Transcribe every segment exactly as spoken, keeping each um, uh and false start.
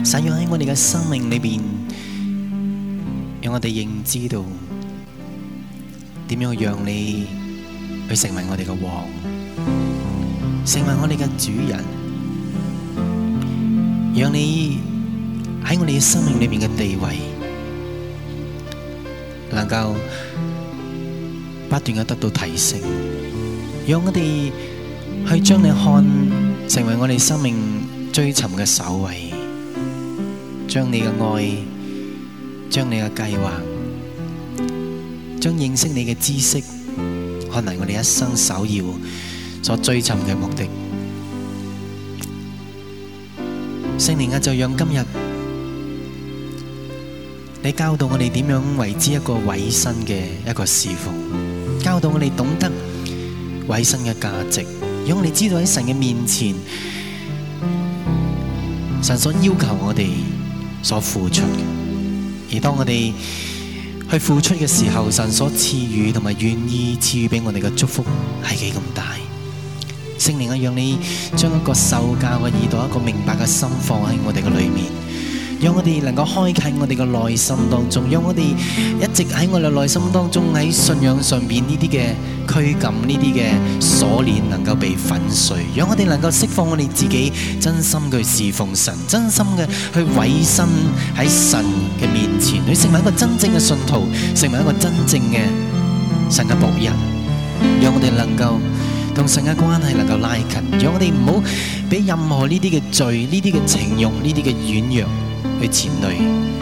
神要喺我哋嘅生命裏邊，讓我哋認知到點樣讓你去成為我哋嘅王，成為我哋嘅主人，讓你喺我哋嘅生命裏面嘅地位能夠不斷嘅得到提升，讓我哋去將你看成為我哋生命追尋嘅首位，將你嘅愛，將你嘅計劃，將認識你嘅知識看為我哋一生首要所追尋嘅目的。聖靈啊，就讓今日你教導我哋點樣為之一個委身嘅一個侍奉，教導我哋懂得委身嘅價值，讓我哋知道喺神嘅面前，神所要求我哋所付出嘅，而當我哋去付出嘅時候，神所賜予同埋願意賜予俾我哋嘅祝福係幾咁大。聖靈啊，讓你將一個受教嘅耳朵，一個明白嘅心放喺我哋嘅裏面，讓我哋能夠開啟我哋嘅內心當中，讓我哋一直喺我哋內心當中喺信仰上邊呢啲嘅拘禁，呢啲嘅鎖鏈能夠被粉碎，讓我哋能夠釋放我哋自己，真心去侍奉神，真心嘅去委身喺神嘅面前，去成為一個真正嘅信徒，成為一個真正嘅神嘅僕人，讓我哋能夠同神嘅關係能夠拉近，讓我哋唔好俾任何呢啲嘅罪、呢啲嘅情慾、呢啲嘅軟弱去纏累。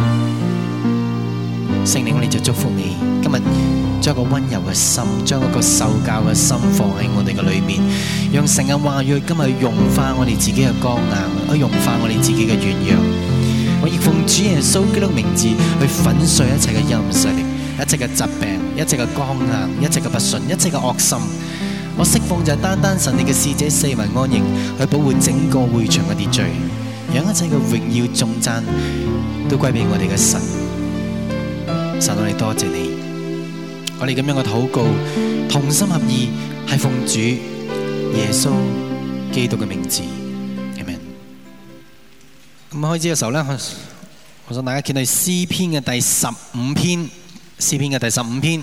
聖靈，我哋就祝福你，今日將一個溫柔嘅心，將一個受教嘅心放喺我哋嘅裏面，讓神嘅話語今日融化我哋自己嘅剛硬，去融化我哋自己嘅軟弱。我亦奉主耶穌基督嘅名字去粉碎一切嘅陰勢力，一切嘅疾病，一切嘅剛硬，一切嘅不順，一切嘅惡心。我釋放就係單單神你嘅使者四圍安營，去保護整個會場嘅秩序，讓一切嘅榮耀頌讚都歸俾我哋嘅神。神，我哋多謝你，我哋咁樣嘅禱告同心合意，係奉主耶穌基督嘅名字，阿們。咁開始嘅時候咧，我想大家見到詩篇嘅第十五篇，詩篇嘅第十五篇。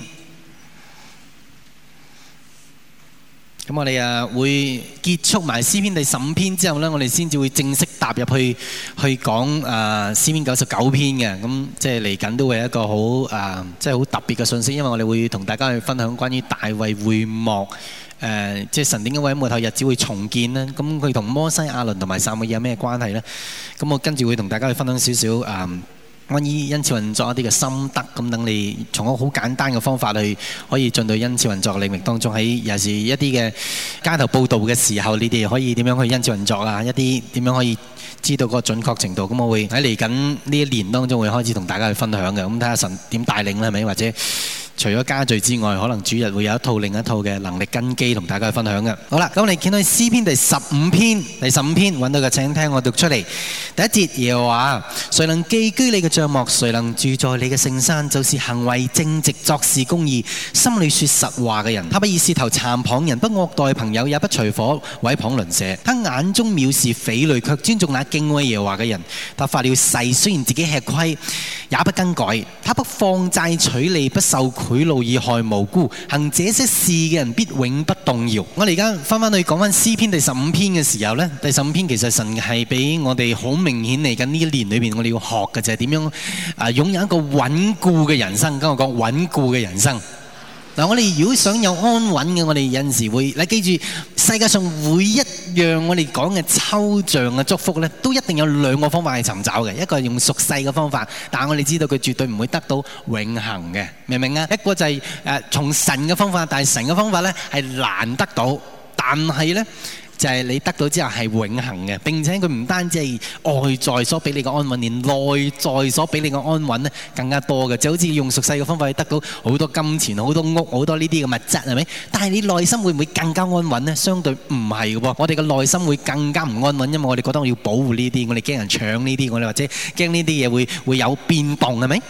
咁我哋啊會結束埋詩篇第十五篇之後咧，我哋先至會正式踏入去去講啊詩篇九十九篇嘅。咁即係嚟緊都會有一個好啊，即係好特別嘅信息，因為我哋會同大家去分享關於大衛會幕誒，即係神點解會喺末後日子會重建呢？咁佢同摩西、亞倫同埋撒母耳有咩關係呢？咁我跟住會同大家去分享少少啊。關於恩賜運作一啲嘅心得，咁等你從一個好簡單嘅方法去可以進到恩賜運作嘅領域當中，喺尤其是一啲嘅街頭報道嘅時候，你哋可以點樣去恩賜運作啊？一啲點樣可以知道嗰個準確程度？咁我會喺嚟緊呢一年當中會開始同大家去分享嘅。咁睇下神點帶領啦，係咪？或者除咗家聚之外，可能主日會有一套另一套嘅能力根基同大家去分享嘅。好啦，咁我哋見到詩篇第十五篇，第十五篇揾到嘅請聽我讀出嚟。第一節，耶和華，誰能寄居你嘅帳幕？誰能住在你嘅聖山？就是行為正直、作事公義、心裏說實話嘅人。他不以舌頭讒謗人，不惡待朋友，也不隨夥毀謗鄰舍。他眼中藐視匪類，卻尊重那敬畏耶和華嘅人。他發了誓，雖然自己吃虧，也不更改。他不放債取利，不受賄賂以害無辜。行這些事嘅人必永不動搖。我哋而家翻翻去講翻詩篇第十五篇嘅時候呢，第十五篇其實神係俾我哋好明顯嚟緊呢一年裏邊，我哋要學嘅就係點樣啊擁有一個穩固嘅人生。跟我講穩固嘅人生。嗱，我哋如果想有安穩嘅，我哋有陣時會，你記住世界上每一樣我哋講嘅抽象嘅祝福呢，都一定有兩個方法去尋找嘅。一個係用俗世嘅方法，但係我哋知道佢絕對唔會得到永恆嘅，明唔明啊？一個就係誒從神嘅方法，但係神嘅方法呢係難得到，但係呢就係你得到之後係永恆嘅。並且佢唔單止係外在所俾你嘅安穩，連內在所俾你嘅安穩咧更加多嘅。就好似用俗世嘅方法去得到好多金錢、好多屋、好多呢啲嘅物質，係咪？但係你內心會唔會更加安穩呢？相對唔係嘅噃，我哋嘅內心會更加唔安穩，因為我哋覺得我要保護呢啲，我哋驚人搶呢啲，我哋或者驚呢啲嘢會會有變動，係咪？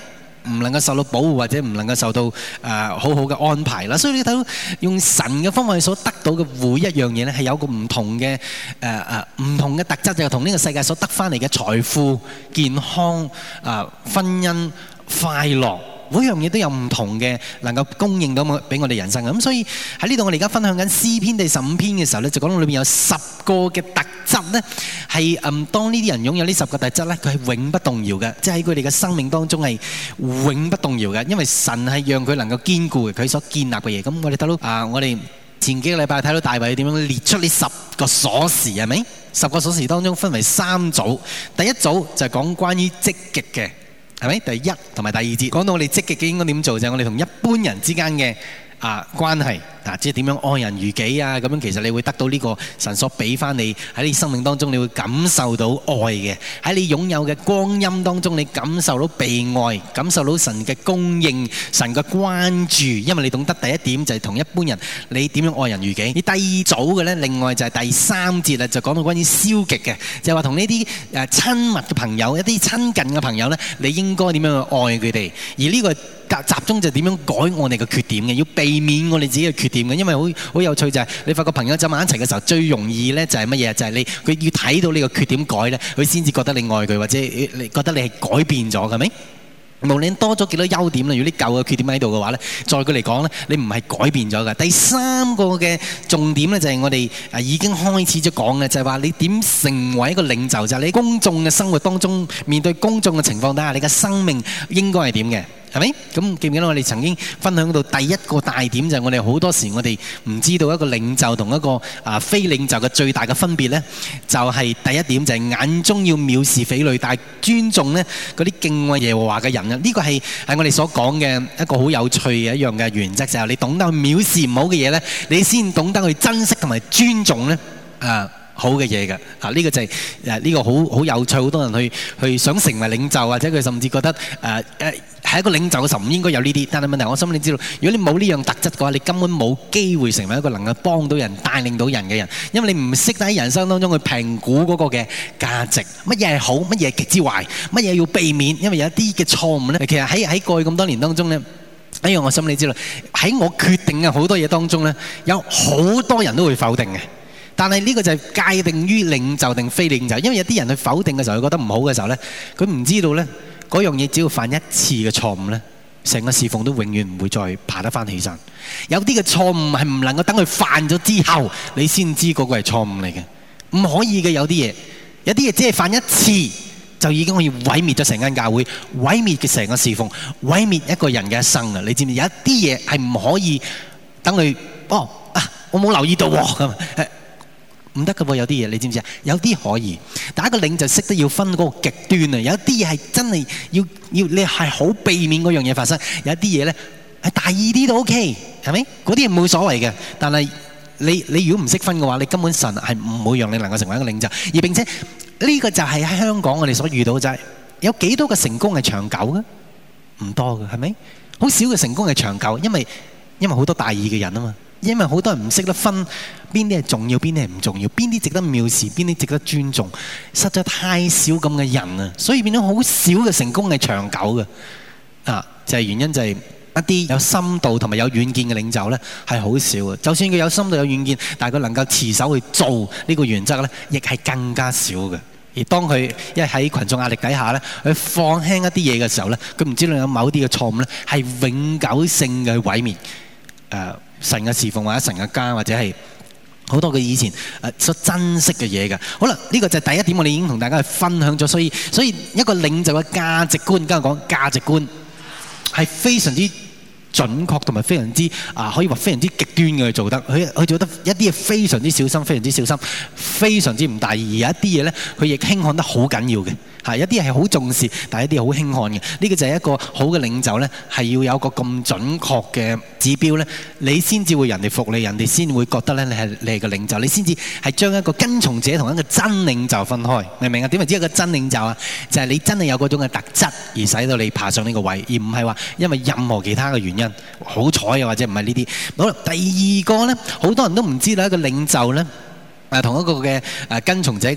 唔能夠受到保護或者唔能夠受到誒、呃、好好嘅安排啦。所以你睇到用神嘅方法所得到嘅每一樣嘢咧，係有個唔同嘅誒誒唔同嘅特質，就係同呢個世界所得翻嚟嘅財富、健康、啊、呃、婚姻、快樂。每樣嘢都有唔同嘅能夠供應到俾我哋人生嘅，咁所以喺呢度我哋而家分享緊詩篇第十五篇嘅時候咧，就講到裏面有十個嘅特質咧，係嗯當呢啲人擁有呢十個特質咧，佢係永不動搖嘅，即係喺佢哋嘅生命當中係永不動搖嘅，因為神係讓佢能夠堅固佢所建立嘅嘢。咁我哋睇到啊，我哋前幾個禮拜睇到大衛點樣列出呢十個鎖匙，係咪？十個鎖匙當中分為三組，第一組就係講關於積極嘅。係咪？第一同埋第二節講到我哋積極嘅應該點做，就係我哋同一般人之間嘅啊關係啊，即係點樣愛人如己啊，咁樣其實你會得到呢個神所俾翻你喺你生命當中，你會感受到愛嘅。喺你擁有嘅光陰當中，你感受到被愛，感受到神嘅供應、神嘅關注，因為你懂得第一點就係同一般人你點樣愛人如己。而第二組嘅呢，另外就係第三節啊，就講到關於消極嘅，就係話同呢啲誒親密嘅朋友、一啲親近嘅朋友呢，你應該點樣去愛佢哋。而呢個集中就點樣改我哋嘅缺點嘅，要避免我哋自己嘅缺點嘅，因為好好有趣就係你發覺朋友走埋一齊嘅時候，最容易呢就係乜嘢？就係你佢要睇到你個缺點改呢，佢先至覺得你愛佢，或者你覺得你係改變咗，係咪？無論多咗幾多優點啦，如果啲舊嘅缺點喺度嘅話呢，在佢嚟講呢，你唔係改變咗嘅。第三個嘅重點呢，就係我哋啊已經開始咗講嘅，就係話你點成為一個領袖，就係你公眾嘅生活當中面對公眾嘅情況底下，你嘅生命應該係點嘅？係咪？咁記唔記得我哋曾經分享到第一個大點，就係我哋好多時我哋唔知道一個領袖同一個啊非領袖嘅最大嘅分別呢，就係第一點就係眼中要藐視匪類，但係尊重呢嗰啲敬畏耶和華嘅人啊！呢個係係我哋所講嘅一個好有趣嘅一樣嘅原則，就係你懂得去藐視唔好嘅嘢呢，你先懂得去珍惜同埋尊重呢啊好嘅嘢嘅啊！呢個就係誒呢個好好有趣，好多人去去想成為領袖，或者佢甚至覺得誒誒係一個領袖嘅時候唔應該有呢啲。但係問題，我心裏知道，如果你冇呢樣特質嘅話，你根本冇機會成為一個能夠幫到人、帶領到人嘅人，因為你唔識得喺人生當中去評估嗰個嘅價值，乜嘢係好，乜嘢係極之壞，乜嘢要避免。因為有一啲嘅錯誤咧，其實喺喺過去咁多年當中咧，一樣我心裏知道，喺我決定嘅好多嘢當中咧，有好多人都會否定嘅。但係呢個就係界定於領袖定非領袖，因為有啲人去否定嘅時候，佢覺得唔好嘅時候呢，佢唔知道呢嗰樣嘢只要犯一次嘅錯誤呢，成個侍奉都永遠唔會再爬得翻起身。有啲嘅錯誤係唔能夠等佢犯咗之後，你先知嗰個係錯誤嚟嘅，唔可以嘅。有啲嘢，有啲嘢只係犯一次就已經可以毀滅咗成間教會，毀滅嘅成個侍奉，毀滅一個人嘅一生啊！你知唔知有一啲嘢係唔可以等佢哦啊？我冇留意到咁。唔得㗎喎，有啲嘢你知唔知啊？有啲可以，但一個領袖識得要分嗰個極端啊！有啲嘢係真係要要你係好避免嗰樣嘢發生，有一啲嘢咧係大意啲都 OK，係咪？嗰啲係冇所謂嘅。但係你你如果唔識分嘅話，你根本神係唔會讓你能夠成為一個領袖。而並且呢個就係喺香港我哋所遇到嘅，就係有幾多個成功係長久嘅？唔多嘅，係咪？好少嘅成功係長久，因為因為好多大意嘅人啊嘛。因為好多人唔識得分邊啲係重要，邊啲係唔重要，邊啲值得藐視，邊啲值得尊重，實在太少咁嘅人啊，所以變咗好少嘅成功係長久嘅啊！就係原因就係一啲有深度同埋有遠見嘅領袖呢係好少嘅。就算佢有深度有遠見，但係佢能夠持守去做呢個原則呢，亦係更加少嘅。而當佢一喺群眾壓力底下呢，佢放輕一啲嘢嘅時候呢，佢唔知道有某啲嘅錯誤呢係永久性嘅毀滅誒。呃神嘅侍奉或者神嘅家，或者係好多佢以前誒所珍惜嘅嘢嘅。好啦，呢個就係第一點，我哋已經同大家去分享咗。所以所以一個領袖嘅價值觀，今日講價值觀係非常之準確同埋非常之啊，可以話非常之極端嘅去做得。佢佢做得一啲嘢非常之小心，非常之小心，非常之唔大意。有一啲嘢咧，佢亦輕看得好緊要嘅。係一啲係好重視，但係一啲係好輕看嘅。呢個就係一個好嘅領袖呢，係要有一個咁準確嘅指標呢，你先至會人哋服你，人哋先會覺得呢，你係你係個領袖，你先至係將一個跟從者同一個真領袖分開，明唔明啊？點為之一個真領袖啊？就係你真係有嗰種嘅特質，而使到你爬上呢個位，而唔係話因為任何其他嘅原因，好彩啊或者唔係呢啲。好啦，第二個呢，好多人都唔知道一個領袖呢，誒同一個嘅誒跟從者嘅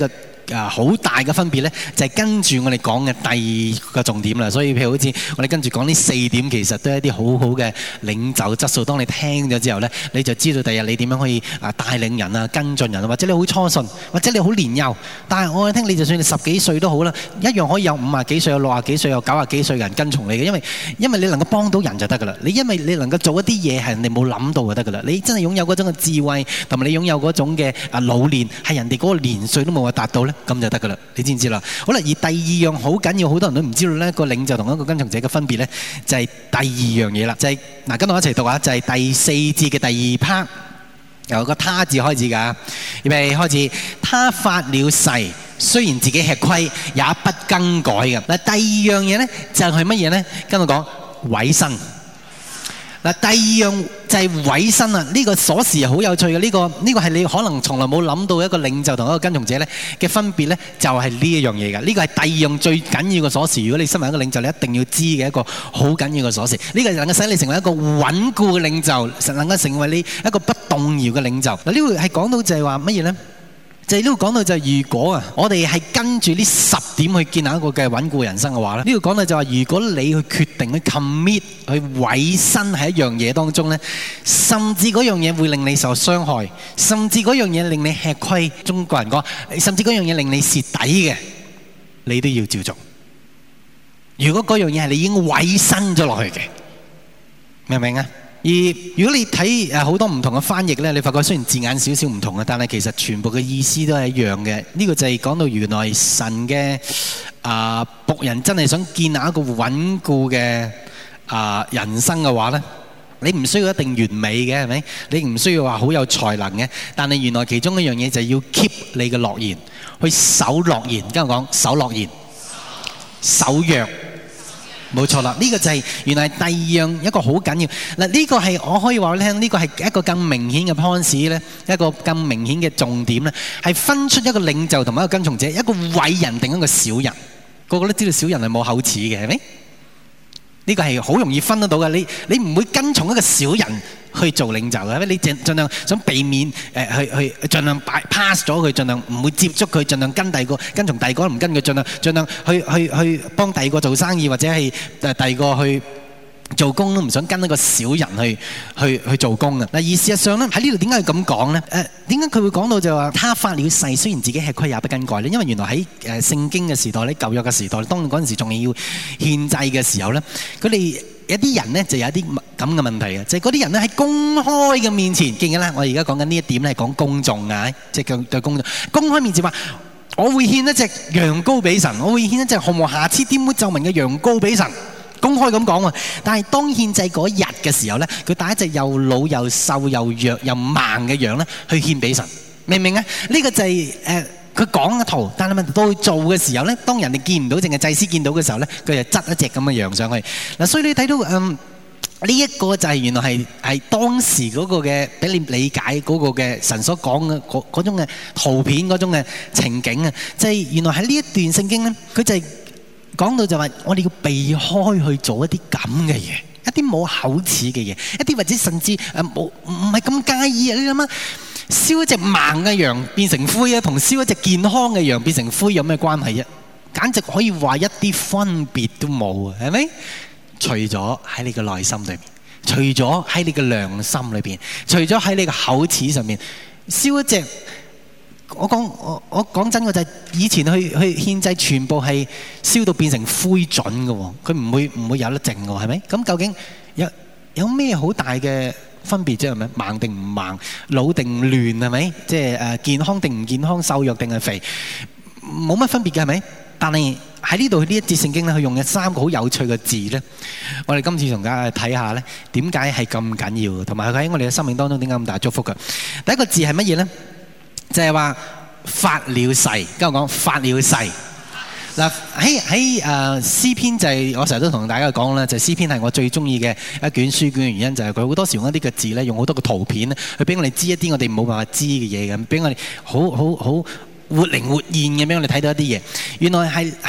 啊好大嘅分別咧，就係跟住我哋講嘅第二個重點啦。所以譬如好似我哋跟住講呢四點，其實都係一啲好好嘅領袖質素。當你聽咗之後咧，你就知道第日你點樣可以啊帶領人啊、跟進人啊，或者你好初信，或者你好年幼，但係我聽你就算你十幾歲都好啦，一樣可以有五啊幾歲、有六啊幾歲、有九啊幾歲嘅人跟從你嘅，因為因為你能夠幫到人就得㗎啦。你因為你能夠做一啲嘢係人哋冇諗到就得㗎啦。你真係擁有嗰種嘅智慧，同埋你擁有嗰種嘅啊老練，係人哋嗰個年歲都冇話達到咧，咁就得㗎啦。你知唔知啦？好啦，而第二樣好緊要，好多人都唔知道咧，個領袖同一個跟從者嘅分別咧，就係第二樣嘢啦，就係嗱，跟我一齊讀下，就係第四節嘅第二 part，由個他字開始㗎，預備開始。他發了誓，雖然自己吃虧，也不更改嘅。嗱，第二樣嘢咧就係乜嘢咧？跟我講委身。嗱，第二樣就係委身啊！呢個鎖匙係好有趣嘅，呢個呢個係你可能從來冇諗到一個領袖同一個跟從者咧嘅分別咧，就係呢一樣嘢㗎。呢個係第二樣最緊要嘅鎖匙。如果你身為一個領袖，你一定要知嘅一個好緊要嘅鎖匙。呢個能夠使你成為一個穩固嘅領袖，能夠成為你一個不動搖嘅領袖。嗱，呢個係講到就係話乜嘢咧？就係呢度講到就係如果啊，我哋係跟住呢十點去建立一個嘅穩固人生嘅話咧，呢度講到就係話，如果你去決定去 commit 去委身喺一樣嘢當中咧，甚至嗰樣嘢會令你受傷害，甚至嗰樣嘢令你吃虧，中國人講，甚至嗰樣嘢令你蝕底嘅，你都要照做。如果嗰樣嘢係你已經委身咗落去嘅，明唔明啊？而如果你睇誒好多唔同嘅翻譯咧，你發覺雖然字眼少少唔同啊，但係其實全部嘅意思都係一樣嘅。呢個就係講到原來神嘅啊僕人真係想建立一個穩固嘅啊人生嘅話咧，你唔需要一定完美嘅，係咪？你唔需要話好有才能嘅，但係原來其中一樣嘢就係要 keep 你嘅諾言，去守諾言。跟我講守諾言，守約。冇錯啦，呢個就係原來第二樣一個好緊要嗱，呢個係我可以話你聽，呢個係一個更明顯嘅 point 咧，一個更明顯嘅重點咧，係分出一個領袖同埋一個跟從者，一個偉人定一個小人。個個都知道小人係冇口齒嘅，係咪？呢個係好容易分得到嘅。你你唔會跟從一個小人去做領袖嘅，你盡盡量想避免誒去去盡量 pass 咗佢，盡量唔會接觸佢，盡量跟第二個跟從第二個唔跟佢，盡量盡量去去去幫第二個做生意或者係誒第二個去做工都唔想跟一個小人去去去做工啊！嗱，而事實上咧喺呢度點解要咁講咧？誒點解佢會講到就話他發了誓，雖然自己吃虧也不更改咧？因為原來喺誒聖經嘅時代咧，舊約嘅時代，當嗰陣時仲係要獻祭嘅時候咧，佢哋有啲人咧就有一啲咁嘅問題嘅，就係嗰啲人咧喺公開嘅面前，記唔記得？我而家講緊呢一點咧係講公眾啊，即係對公眾公開面前話，我會獻一隻羊羔俾神，我會獻一隻毫無瑕疵、玷污皺紋嘅羊羔俾神。公開咁講喎，但係當獻祭嗰日嘅時候咧，佢帶一隻又老又瘦又弱又盲嘅羊咧，去獻俾神，明唔明啊？呢個就係誒佢講一套，但係問題到佢做嘅時候咧，當人哋見唔到，淨係祭司見到嘅時候咧，佢就執一隻咁嘅羊上去。嗱，所以你睇到嗯呢一個就係原來係係當時嗰個嘅俾你理解嗰個嘅神所講嘅嗰嗰種嘅圖片嗰種嘅情景啊，就係原來喺呢一段聖經咧，佢就係講到就話，我哋要避開去做一啲咁嘅嘢，一啲冇口齒嘅嘢，一啲或者甚至誒冇唔係咁介意啊！你諗下，燒一隻盲嘅羊變成灰啊，同燒一隻健康嘅羊變成灰有咩關係啫？簡直可以話一啲分別都冇啊，係咪？除咗喺你嘅內心裏面，除咗喺你嘅良心裏邊，除咗喺你嘅口齒上面，燒一隻。我講我我講真嘅就係以前去去獻祭全部係燒到變成灰燼嘅喎，佢唔會唔會有得剩嘅喎，係咪？咁究竟有有咩好大嘅分別啫？係咪盲定唔盲，老定亂係咪？即係誒健康定唔健康，瘦弱定係肥，冇乜分別嘅係咪？但係喺呢度呢一節聖經咧，佢用嘅三個好有趣嘅字咧，我哋今次同大家睇下咧，點解係咁緊要，同埋佢喺我哋嘅生命當中點解咁大祝福嘅？第一個字係乜嘢咧？就係話發了誓，跟我講發了誓。嗱喺喺誒詩篇就係、是、我成日都同大家講啦，就係、是、詩篇係我最中意嘅一卷書卷嘅原因，就係佢好多時用一啲嘅字咧，用好多個圖片咧，去俾我哋知一啲我哋冇辦法知嘅嘢咁，俾我哋好好好活靈活現嘅俾我哋睇到一啲嘢。原來係係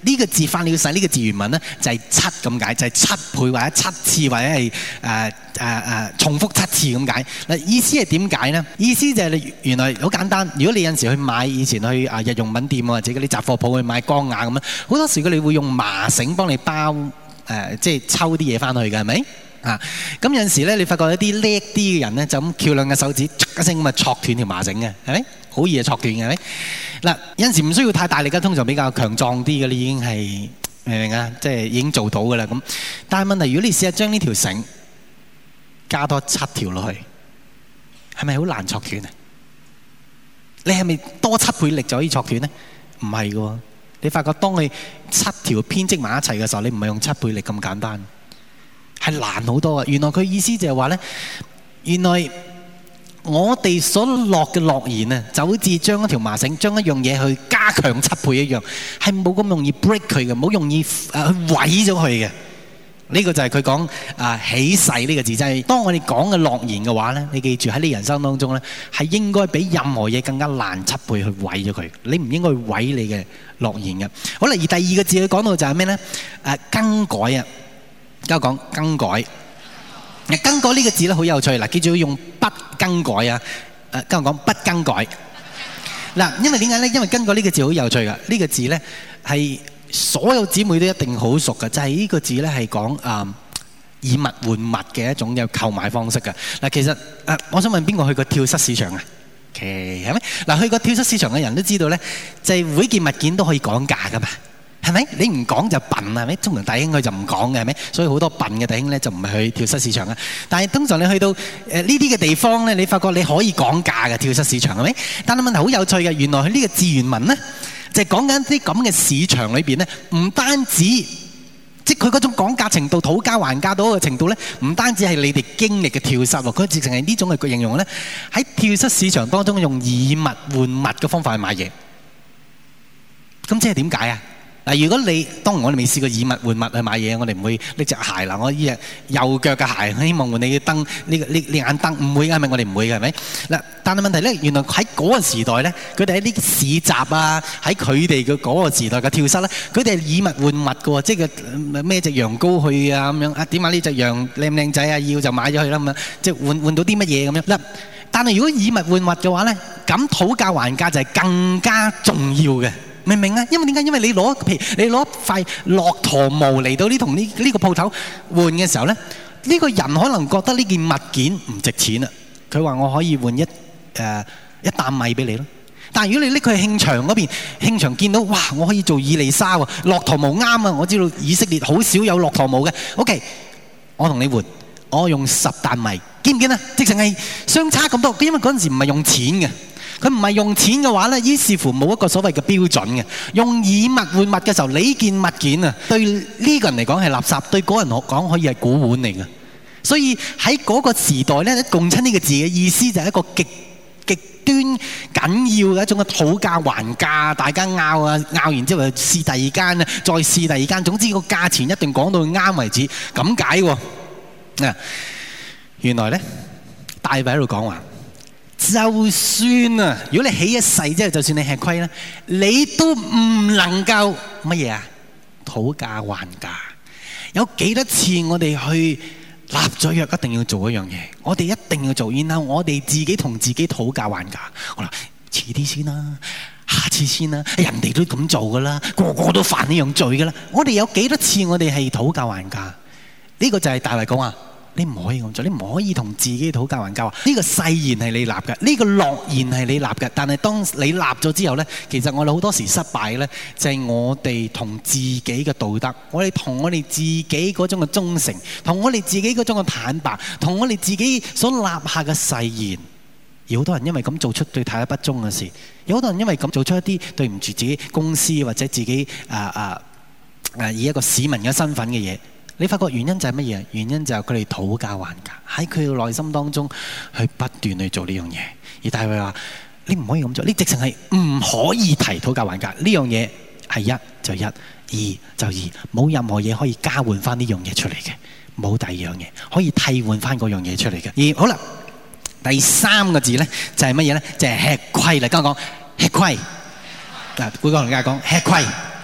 呢個字翻了晒，呢個字原文咧就係七咁解，就係七倍或者七次或者係誒誒誒重複七次咁解。嗱，意思係點解咧？意思就係你原來好簡單。如果你有陣時去買以前去啊日用品店或者嗰啲雜貨鋪去買缸瓦咁樣，好多時佢哋會用麻繩幫你包誒、呃，即係抽啲嘢翻去嘅，係咪？啊，咁有陣時咧，你發覺一啲叻啲嘅人咧，就咁翹兩個手指，一聲咁啊，戳斷條麻繩嘅，係咪？好易啊，戳斷嘅，係咪？嗱，有陣時唔需要太大力嘅，通常比較強壯啲嘅，你已經係明唔明啊？即係已經做到嘅啦。咁，但係問題，如果你試下將呢條繩加多七條落去，係咪好難戳斷啊？你係咪多七倍力就可以戳斷咧？唔係嘅喎，你發覺當佢七條編織埋一齊嘅時候，你唔係用七倍力咁簡單。係難好多啊！原來佢意思就係話咧，原來我哋所落嘅諾言啊，就好似將一條麻繩，將一樣嘢去加強七倍一樣，係冇咁容易 break 佢嘅，冇容易誒去毀咗佢嘅。呢個就係佢講啊起誓呢個字，就係當我哋講嘅諾言嘅話咧，你記住喺你人生當中咧，係應該比任何嘢更加難七倍去毀咗佢。你唔應該去毀你嘅諾言嘅。好啦，而第二個字佢講到就係咩咧？誒更改啊！而家講更改，更改呢個字咧好有趣嗱，記住要用不更改啊！誒，跟我講不更改嗱，因為點解咧？因為更改呢個字好有趣噶，呢個字咧係所有姊妹都一定好熟噶，就係呢個字咧係講誒以物換物嘅一種嘅購買方式噶嗱。其實誒，我想問邊個去過跳蚤市場啊？其實係咪嗱？去過跳蚤市場嘅人都知道咧，就係每件物件都可以講價噶嘛。係咪？你唔講就笨係咪？通常弟兄佢就唔講嘅係咪？所以好多笨嘅弟兄咧就唔係去跳蚤市場啊。但係通常你去到誒呢啲嘅地方咧，你發覺你可以講價嘅跳蚤市場係咪？但係問題好有趣嘅，原來佢呢個字原文咧就係講緊啲咁嘅市場裏邊咧，唔單止即係佢嗰種講價程度、討價還價到嘅程度咧，唔單止係你哋經歷嘅跳蚤喎，佢直情係呢種嘅形容咧，喺跳蚤市場當中用以物換物嘅方法去買嘢。咁即係點解啊？嗱，如果你當然我哋未試過以物換物去買嘢，我哋唔會拎隻鞋啦。我呢隻右腳嘅鞋，希望換你嘅燈，呢個呢呢眼燈唔會嘅，係咪？我哋唔會嘅，係咪？嗱，但係問題咧，原來喺嗰個時代咧，佢哋喺啲市集啊，喺佢哋嘅嗰個時代嘅跳蚤咧，佢哋係以物換物嘅喎，即係個咩隻羊羔去啊咁樣啊？點解呢隻羊靚唔靚仔啊？要就買咗佢啦咁樣，即係換換到啲乜嘢咁樣嗱。但係如果以物換物嘅話咧，咁討價還價就係更加重要嘅。明唔明啊？因為點解？因為你攞譬如你攞塊駱駝毛嚟到呢同呢呢個鋪頭換嘅時候咧，呢個人可能覺得呢件物件唔值錢啊。佢話我可以換一誒一擔米俾你咯。但係如果你拎佢去慶場嗰邊，慶場見到哇，我可以做以利沙喎，駱駝毛啱啊！我知道以色列好少有駱駝毛嘅。OK，我同你換，我用十擔米，見唔見啊？直情係相差咁多，因為嗰陣時唔係用錢嘅。佢唔係用錢嘅話咧，於是乎冇一個所謂嘅標準嘅。用以物換物嘅時候，呢件物件啊，對呢個人嚟講係垃圾，對嗰人講可以係古玩嚟嘅。所以喺嗰個時代咧，共親呢個字嘅意思就係一個極極端緊要嘅一種嘅討價還價，大家拗啊拗完之後試第二間啊，再試第二間，總之個價錢一定講到啱為止，咁解喎。啊，原來咧大衛喺度講話。就算啊，如果你起一誓之後，就算你吃虧咧，你都唔能夠乜嘢啊？討價還價。有幾多次我哋去立咗約，一定要做一樣嘢，我哋一定要做，然後我哋自己同自己討價還價。好啦，遲啲先啦，下次先啦，人哋都咁做噶啦，個個都犯呢樣罪噶啦。我哋有幾多次我哋係討價還價？呢個就係大衛講話。你唔可以咁做，你唔可以同自己討價還價。呢個誓言係你立嘅，呢個諾言係你立嘅。但係當你立咗之後呢，其實我哋好多時失敗呢，就係我哋同自己嘅道德，我哋同我哋自己嗰種嘅忠誠，同我哋自己嗰種嘅坦白，同我哋自己所立下嘅誓言。而好多人因為咁做出對太太不忠嘅事，有好多人因為咁做出一啲對唔住自己公司或者自己啊啊啊以一個市民嘅身份嘅嘢。你發覺原因就係乜嘢？原因就係佢哋討價還價，喺佢嘅內心當中去不斷去做呢樣嘢。而大衛話：你唔可以咁做，你直情係唔可以提討價還價。呢樣嘢係一就一，二就二，冇任何嘢可以交換翻呢樣嘢出嚟嘅，冇第二樣嘢可以替換翻嗰樣嘢出嚟嘅。而好啦，第三個字咧就係乜嘢咧？就係、是、吃虧啦。跟我講吃虧，嗱，每個人家講吃虧。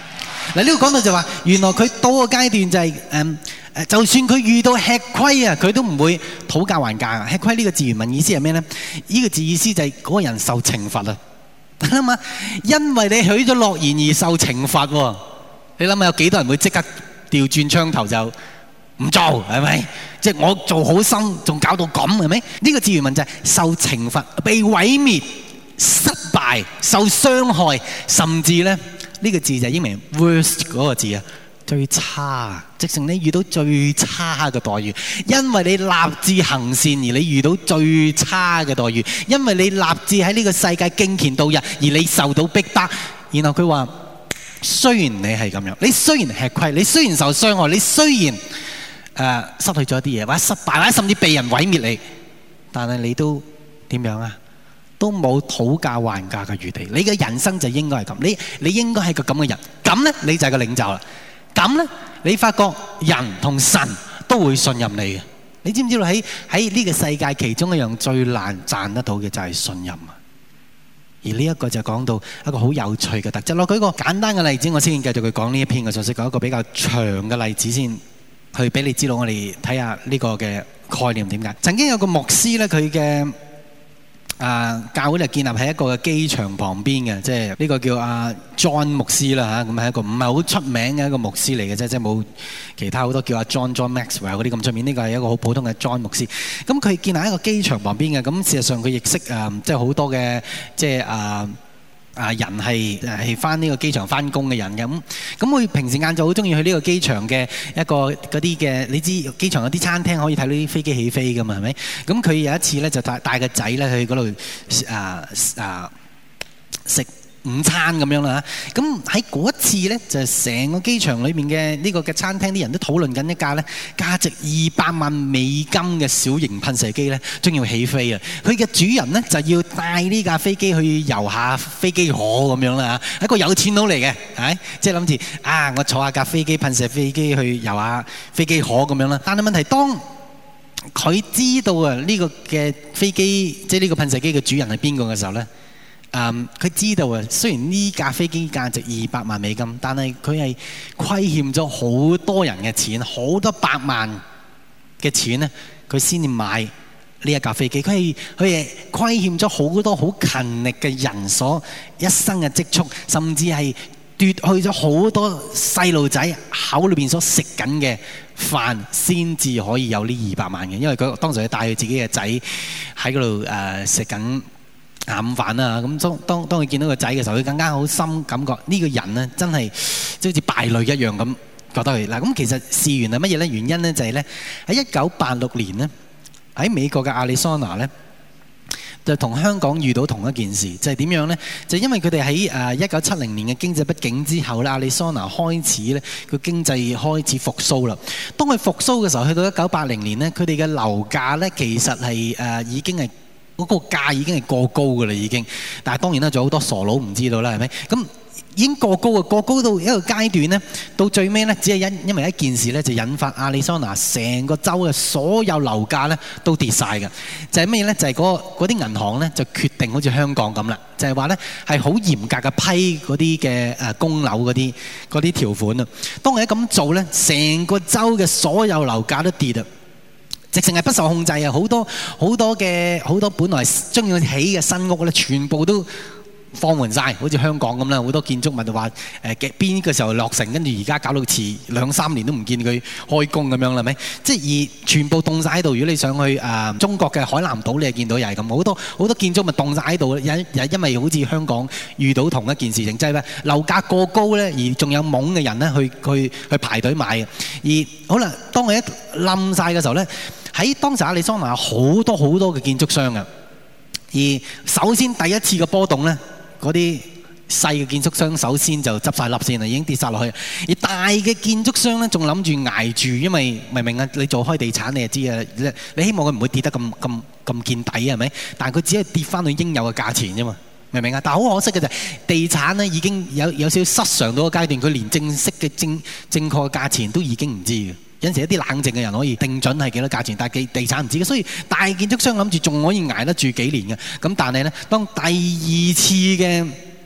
嗱，呢個講到就話，原來佢到個階段就係誒誒，就算佢遇到吃虧啊，佢都唔會討價還價。吃虧呢個字原文意思係咩咧？呢個字意思就係嗰個人受懲罰啊！你諗下，因為你許咗諾言而受懲罰喎。你諗下有幾多人會即刻調轉槍頭就唔做，係咪？即係我做好心，仲搞到咁，係咪？呢個字原文就係受懲罰、被毀滅、失敗、受傷害，甚至咧呢個字就係英文 worst 嗰個字啊，最差，直情你遇到最差嘅待遇，因為你立志行善而你遇到最差嘅待遇，因為你立志喺呢個世界敬虔度日而你受到逼迫。然後佢話：雖然你係咁樣，你雖然吃虧，你雖然受傷害，你雖然誒、呃、失去咗一啲嘢，或者失敗，或者甚至被人毀滅你，但係你都點樣啊？都冇討價還價嘅餘地。你嘅人生就應該係咁，你你應該係個咁嘅人，咁呢，你就係個領袖啦。咁呢，你發覺人同神都會信任你嘅。你知唔知道喺喺呢個世界其中一樣最難賺得到嘅就係信任啊！而呢一個就講到一個好有趣嘅特質。我舉個簡單嘅例子，我先繼續去講呢一篇嘅信息，講一個比較長嘅例子先，去俾你知道我哋睇下呢個嘅概念點解。曾經有個牧師呢，佢嘅啊教會就建立喺一個機場旁邊嘅，即係呢個叫阿 John 牧師啦嚇，咁係一個唔係好出名嘅一個牧師嚟嘅啫，即係冇其他好多叫阿 John John Maxwell 嗰啲咁出名。呢個係一個好普通嘅 John 牧師。咁佢建立喺一個機場旁邊嘅，咁事實上佢亦識誒，即係好多嘅即係啊。啊！人係係翻呢個機場翻工嘅人嘅，咁咁佢平時晏晝好中意去呢個機場嘅一個嗰啲嘅，你知機場有啲餐廳可以睇到啲飛機起飛噶嘛，係咪？咁佢有一次咧就帶帶個仔咧去嗰度啊啊食午餐咁樣啦嚇，咁喺嗰一次咧就成個機場裏面嘅呢個嘅餐廳啲人都討論緊一架咧價值二百萬美金嘅小型噴射機咧將要起飛啊！佢嘅主人咧就要帶呢架飛機去遊下飛機河咁樣啦嚇，一個有錢佬嚟嘅，係即係諗住啊我坐下架飛機噴射飛機去遊下飛機河咁樣啦。但係問題當佢知道啊呢個嘅飛機即係呢個噴射機嘅主人係邊個嘅時候咧？誒，佢、um, 知道啊，雖然呢架飛機價值二百萬美金，但係佢係虧欠咗好多人嘅錢，好多百萬嘅錢咧，佢先至買呢一架飛機。佢係佢係虧欠咗好多好勤力嘅人所一生嘅積蓄，甚至係奪去咗好多細路仔口裏邊所食緊嘅飯，先至可以有呢二百萬嘅。因為佢當時佢帶佢自己嘅仔喺嗰度誒食緊下午飯啊，咁當當當佢見到個仔嘅時候，佢更加好深感覺呢個人呢真係即好似敗類一樣咁覺得佢嗱。咁其實事源係乜嘢呢？原因呢就係呢喺一九八六年呢喺美國嘅亞利桑那呢就同香港遇到同一件事，就係點樣呢？就因為佢哋喺誒一九七零年嘅經濟不景之後咧，亞利桑那開始呢個經濟開始復甦啦。當佢復甦嘅時候，去到一九八零年呢，佢哋嘅樓價呢其實係誒已經係。嗰個價已經係過高㗎啦，已經。但係當然啦，仲有好多傻佬唔知道啦，係咪？咁已經過高啊，過高到一個階段呢，到最尾呢，只係因因為一件事呢，就引發亞利桑那成個州嘅所有樓價呢都跌晒嘅。就係咩呢？就係嗰啲銀行呢，就決定好似香港咁啦，就係話呢係好嚴格嘅批嗰啲嘅誒供樓嗰啲嗰啲條款啊。當佢一咁做呢，成個州嘅所有樓價都跌啊！直情係不受控制啊！好多好多嘅好多本來將要起嘅新屋咧，全部都放緩晒，好似香港咁啦。好多建築物就話誒嘅邊個時候落成，跟住而家搞到遲兩三年都唔見佢開工咁樣啦，係咪？即係而全部凍晒喺度。如果你上去誒、呃、中國嘅海南島，你就見到又係咁，好多好多建築物凍晒喺度。因因為好似香港遇到同一件事情，即係咩樓價過高咧，而仲有懵嘅人咧去去去排隊買嘅。而好啦，當佢一冧晒嘅時候咧。喺當時亞利桑那有好多好多嘅建築商啊，而首先第一次嘅波動咧，嗰啲細嘅建築商首先就執晒笠先啦，已經跌晒落去。而大嘅建築商咧，仲諗住捱住，因為明唔明啊？你做開地產你就知啊，你你希望佢唔會跌得咁咁咁見底係咪？但係佢只係跌翻去應有嘅價錢啫嘛，明唔明啊？但係好可惜嘅就係地產咧已經有有少少失常到個階段，佢連正式嘅正正確嘅價錢都已經唔知嘅。有時一啲冷靜嘅人可以定準係幾多價錢，但係地產唔知嘅，所以大建築商諗住仲可以捱得住幾年嘅。咁但係呢，當第二次嘅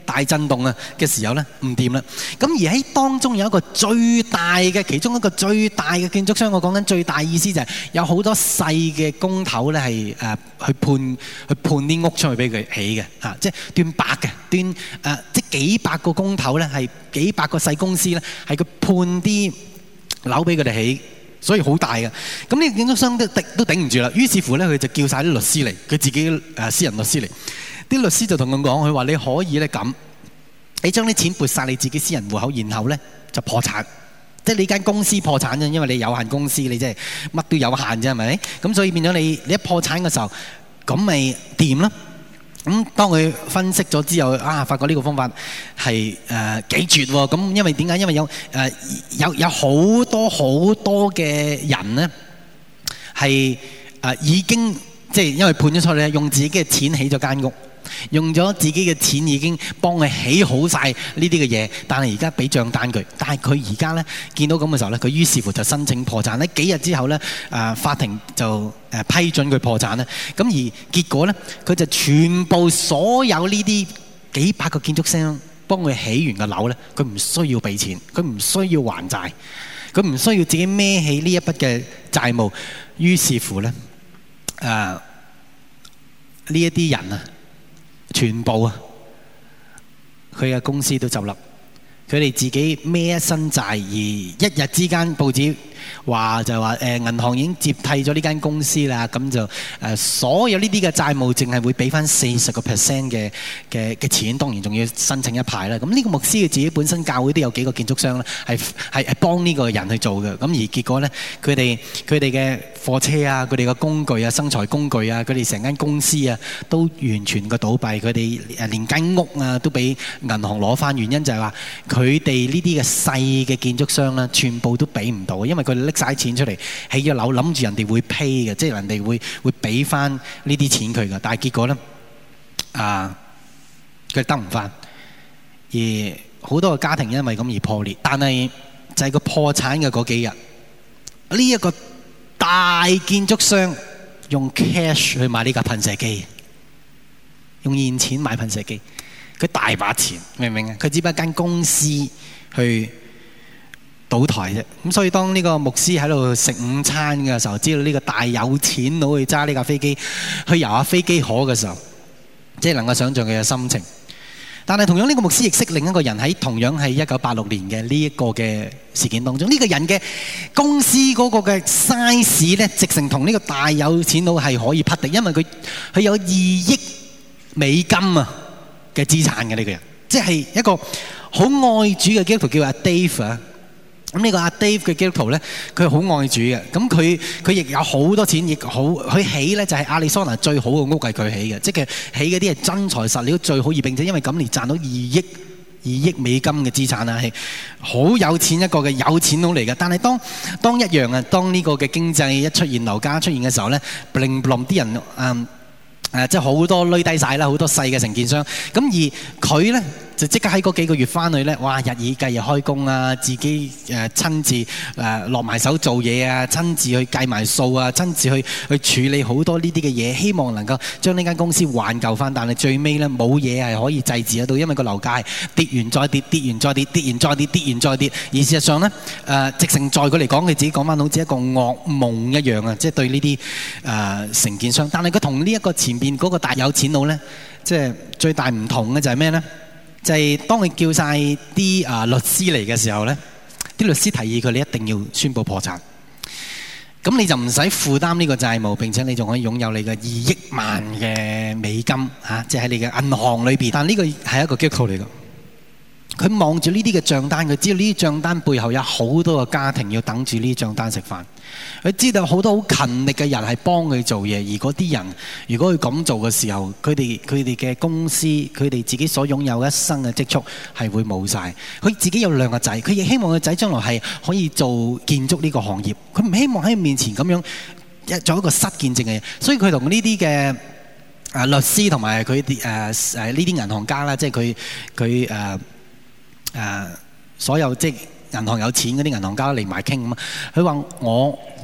大震動啊嘅時候咧，唔掂啦。咁而喺當中有一個最大嘅，其中一個最大嘅建築商，我講緊最大意思就係有好多細嘅工頭咧係誒去判去判啲屋出去俾佢起嘅嚇，即係斷百嘅斷誒、呃，即係幾百個工頭咧係幾百個細公司咧係佢判啲樓俾佢哋起。所以好大嘅，咁呢個建築商都頂都頂唔住啦。於是乎咧，佢就叫晒啲律師嚟，佢自己誒私人律師嚟。啲律師就同佢講，佢話你可以咧咁，你將啲錢撥晒你自己私人戶口，然後咧就破產，即係你間公司破產啫，因為你有限公司，你即係乜都有限啫，係咪？咁所以變咗你你一破產嘅時候，咁咪掂咯。咁當佢分析咗之後，啊，發覺呢個方法係誒幾絕喎！咁因為點解？因為有誒、呃、有有好多好多嘅人咧，係誒、呃、已經即係因為判咗出嚟，用自己嘅錢起咗間屋，用咗自己嘅錢已經幫佢起好晒呢啲嘅嘢，但係而家俾帳單佢，但係佢而家咧見到咁嘅時候咧，佢於是乎就申請破產咧。幾日之後咧，誒、呃、法庭就誒批准佢破產咧。咁而結果咧，佢就全部所有呢啲幾百個建築商幫佢起完嘅樓咧，佢唔需要俾錢，佢唔需要還債，佢唔需要自己孭起呢一筆嘅債務。於是乎咧，誒呢一啲人啊〜全部啊，佢嘅公司都執笠，佢哋自己孭一身債，而一日之間報紙話就話誒銀行已經接替咗呢間公司啦，咁就誒、呃、所有呢啲嘅債務淨係會俾翻四十個 percent 嘅嘅嘅錢，當然仲要申請一排啦。咁呢個牧師佢自己本身教會都有幾個建築商咧，係係係幫呢個人去做嘅。咁而結果咧，佢哋佢哋嘅貨車啊，佢哋嘅工具啊，生財工具啊，佢哋成間公司啊，都完全個倒閉。佢哋誒連間屋啊都俾銀行攞翻，原因就係話佢哋呢啲嘅細嘅建築商啦，全部都俾唔到，因為佢哋拎晒錢出嚟起咗樓，諗住人哋會 pay 嘅，即係人哋會會俾翻呢啲錢佢嘅。但係結果咧，啊，佢得唔翻，而好多個家庭因為咁而破裂。但係就係個破產嘅嗰幾日，呢一個大建築商用 cash 去買呢架噴射機，用現錢買噴射機，佢大把錢，明唔明啊？佢只不過一間公司去倒台啫。咁所以當呢個牧師喺度食午餐嘅時候，知道呢個大有錢佬去揸呢架飛機去遊下飛機河嘅時候，即係能夠想像佢嘅心情。但係同樣呢個牧師亦識另一個人喺同樣係一九八六年嘅呢一個嘅事件當中，呢個人嘅公司嗰個嘅 size 咧，直成同呢個大有錢佬係可以匹敵，因為佢佢有二億美金啊嘅資產嘅呢個人，即係一個好愛主嘅基督徒叫阿 Dave 啊。咁呢個阿 Dave 嘅基督徒咧，佢好愛主嘅。咁佢佢亦有好多錢，亦好佢起咧就係亞利桑那最好嘅屋係佢起嘅，即係起嗰啲係真材實料最好，而並且因為咁而賺到二億二億美金嘅資產啊，係好有錢一個嘅有錢佬嚟嘅。但係當當一樣啊，當呢個嘅經濟一出現樓價出現嘅時候咧，bling bling啲人嗯誒即係好多累低晒啦，好多細嘅承建商。咁而佢咧就即刻喺嗰幾個月翻去咧，哇！日以繼日開工啊，自己誒親自誒落埋手做嘢啊，親自去計埋數啊，親自去去處理好多呢啲嘅嘢，希望能夠將呢間公司挽救翻。但係最尾咧冇嘢係可以制止得到，因為個樓價係跌完再跌，跌完再跌，跌完再跌，跌完再跌。而事實上咧誒，直成在佢嚟講，佢自己講翻好似一個噩夢一樣啊！即係對呢啲誒承建商。但係佢同呢一個前邊嗰個大有錢佬咧，即係最大唔同嘅就係咩咧？就係當佢叫晒啲啊律師嚟嘅時候咧，啲律師提議佢你一定要宣布破產，咁你就唔使負擔呢個債務，並且你仲可以擁有你嘅二億萬嘅美金嚇，即係喺你嘅銀行裏邊。但呢個係一個基督徒嚟嘅，佢望住呢啲嘅帳單，佢知道呢啲帳單背後有好多個家庭要等住呢啲帳單食飯。佢知道好多好勤力嘅人係幫佢做嘢，而嗰啲人如果佢咁做嘅時候，佢哋佢哋嘅公司，佢哋自己所擁有一生嘅積蓄係會冇晒。佢自己有兩個仔，佢亦希望個仔將來係可以做建築呢個行業，佢唔希望喺佢面前咁樣一做一個失見證嘅嘢。所以佢同呢啲嘅啊律師同埋佢啲誒誒呢啲銀行家啦，即係佢佢誒誒所有即係銀行有錢嗰啲銀行家嚟埋傾咁啊！佢話我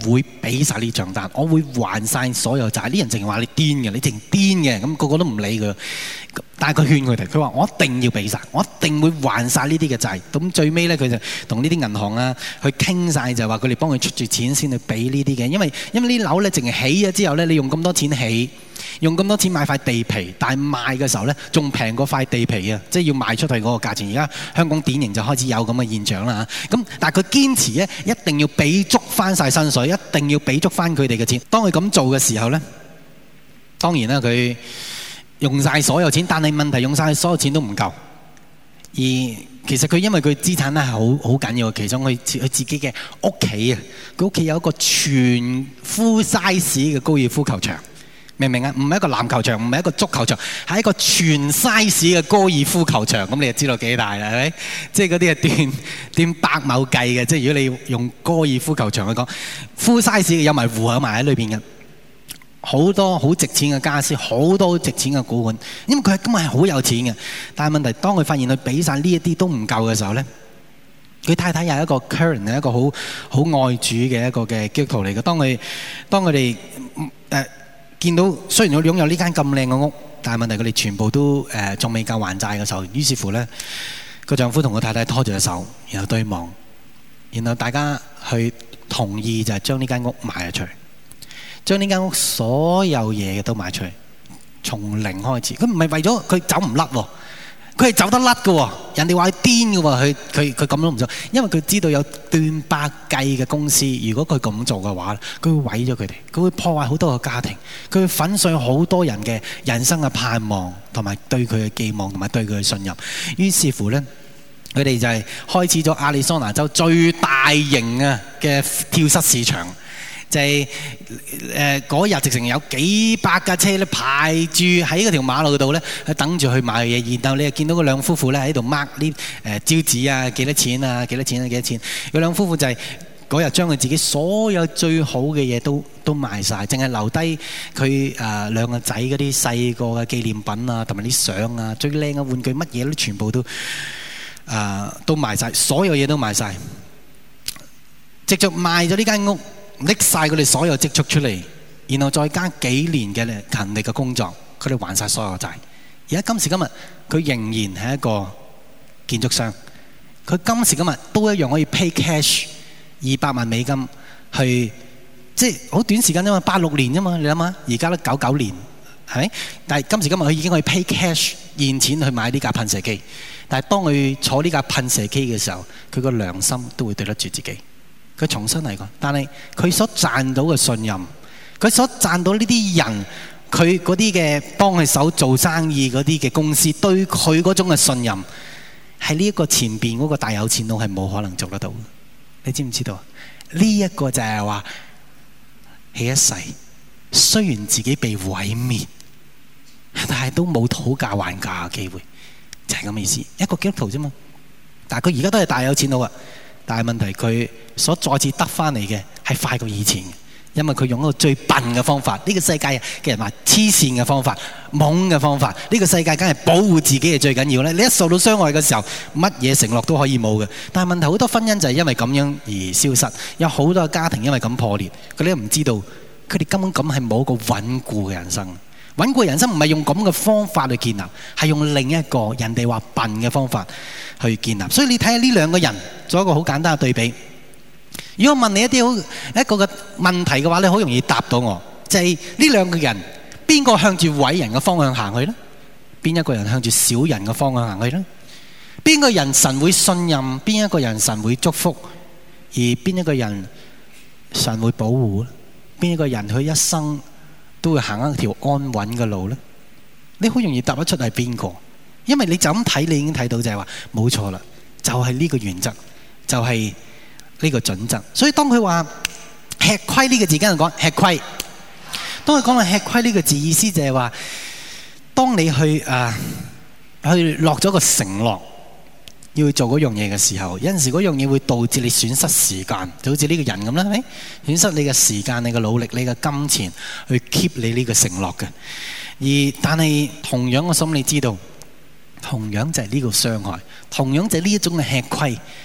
會俾晒呢帳單，我會還晒所有債。啲人淨係話你癲嘅，你淨癲嘅，咁個個都唔理佢。但係佢勸佢哋，佢話我一定要俾晒，我一定會還晒呢啲嘅債。咁最尾咧，佢就同呢啲銀行啊去傾晒，就話佢哋幫佢出住錢先去俾呢啲嘅。因為因為呢樓咧淨係起咗之後咧，你用咁多錢起，用咁多錢買塊地皮，但係賣嘅時候咧仲平過塊地皮啊！即係要賣出去嗰個價錢。而家香港典型就開始有咁嘅現象啦嚇。咁但係佢堅持咧，一定要俾足翻晒薪水，一定要俾足翻佢哋嘅錢。當佢咁做嘅時候咧，當然啦，佢用晒所有錢，但係問題用晒所有錢都唔夠。而其實佢因為佢資產咧係好好緊要，其中佢佢自己嘅屋企啊，佢屋企有一個全 full size 嘅高爾夫球場。明唔明啊？唔係一個籃球場，唔係一個足球場，係一個全 size 嘅高爾夫球場。咁你就知道幾大啦，係咪？即係嗰啲係斷斷百畝計嘅。即係如果你用高爾夫球場去講 full size 嘅，有埋戶口埋喺裏邊嘅，好多好值錢嘅家私，好多好值錢嘅古玩。因為佢今日係好有錢嘅，但係問題當佢發現佢俾晒呢一啲都唔夠嘅時候咧，佢太太又係一個 Karen 係一個好好愛主嘅一個嘅基督徒嚟嘅。當佢當佢哋誒見到雖然佢擁有呢間咁靚嘅屋，但係問題佢哋全部都誒仲未夠還債嘅時候，於是乎咧個丈夫同個太太拖住隻手，然後對望，然後大家去同意就係將呢間屋賣咗出去，將呢間屋所有嘢都賣出去，從零開始。佢唔係為咗佢走唔甩喎。佢係走得甩嘅喎，人哋話佢癲嘅喎，佢佢佢咁都唔做，因為佢知道有斷百計嘅公司，如果佢咁做嘅話，佢會毀咗佢哋，佢會破壞好多個家庭，佢會粉碎好多人嘅人生嘅盼望，同埋對佢嘅寄望，同埋對佢嘅信任。於是乎呢，佢哋就係開始咗亞利桑那州最大型啊嘅跳蚤市場。就係誒嗰日直情有幾百架車咧排住喺嗰條馬路度咧，去等住去買嘢。然後你又見到嗰兩夫婦咧喺度 mark 啲誒招紙啊，幾多錢啊，幾多錢啊，幾多錢？嗰兩夫婦就係嗰日將佢自己所有最好嘅嘢都都賣晒，淨係留低佢誒兩個仔嗰啲細個嘅紀念品啊，同埋啲相啊，最靚嘅玩具，乜嘢都全部都誒、呃、都賣晒，所有嘢都賣晒。直接賣咗呢間屋。拎晒佢哋所有積蓄出嚟，然後再加幾年嘅勤力嘅工作，佢哋還晒所有債。而家今時今日，佢仍然係一個建築商。佢今時今日都一樣可以 pay cash 二百萬美金去，即係好短時間啫嘛，八六年啫嘛，你諗下，而家都九九年，係咪？但係今時今日佢已經可以 pay cash 現錢去買呢架噴射機。但係當佢坐呢架噴射機嘅時候，佢個良心都會對得住自己。佢重新嚟過，但係佢所賺到嘅信任，佢所賺到呢啲人，佢嗰啲嘅幫佢手做生意嗰啲嘅公司，對佢嗰種嘅信任，係呢一個前邊嗰個大有錢佬係冇可能做得到。你知唔知道？呢、這、一個就係話，起一世，雖然自己被毀滅，但係都冇討價還價嘅機會，就係咁嘅意思。一個基督徒啫嘛，但係佢而家都係大有錢佬啊。但係問題，佢所再次得翻嚟嘅係快過以前嘅，因為佢用一個最笨嘅方法。呢、這個世界嘅人話黐線嘅方法、懵嘅方法。呢、這個世界梗係保護自己係最緊要咧。你一受到傷害嘅時候，乜嘢承諾都可以冇嘅。但係問題，好多婚姻就係因為咁樣而消失，有好多家庭因為咁破裂。佢哋都唔知道，佢哋根本咁係冇一個穩固嘅人生。穩固人生唔係用咁嘅方法去建立，係用另一個人哋話笨嘅方法去建立。所以你睇下呢兩個人做一個好簡單嘅對比。如果我問你一啲好一個嘅問題嘅話，你好容易答到我，就係呢兩個人邊個向住偉人嘅方向行去呢？邊一個人向住小人嘅方向行去呢？邊個人神會信任？邊一個人神會祝福？而邊一個人神會保護？邊一個人佢一生都會行一條安穩嘅路呢？你好容易答得出係邊個？因為你就咁睇，你已經睇到就係話冇錯啦，就係呢個原則，就係呢個準則。所以當佢話吃虧呢個字，跟人講吃虧。當佢講到吃虧呢個字，意思就係話，當你去啊去落咗個承諾，要去做嗰樣嘢嘅時候，有陣時嗰樣嘢會導致你損失時間，就好似呢個人咁啦，係咪？損失你嘅時間、你嘅努力、你嘅金錢去 keep 你呢個承諾嘅。而但係同樣我心你知道，同樣就係呢個傷害，同樣就係呢一種嘅吃虧，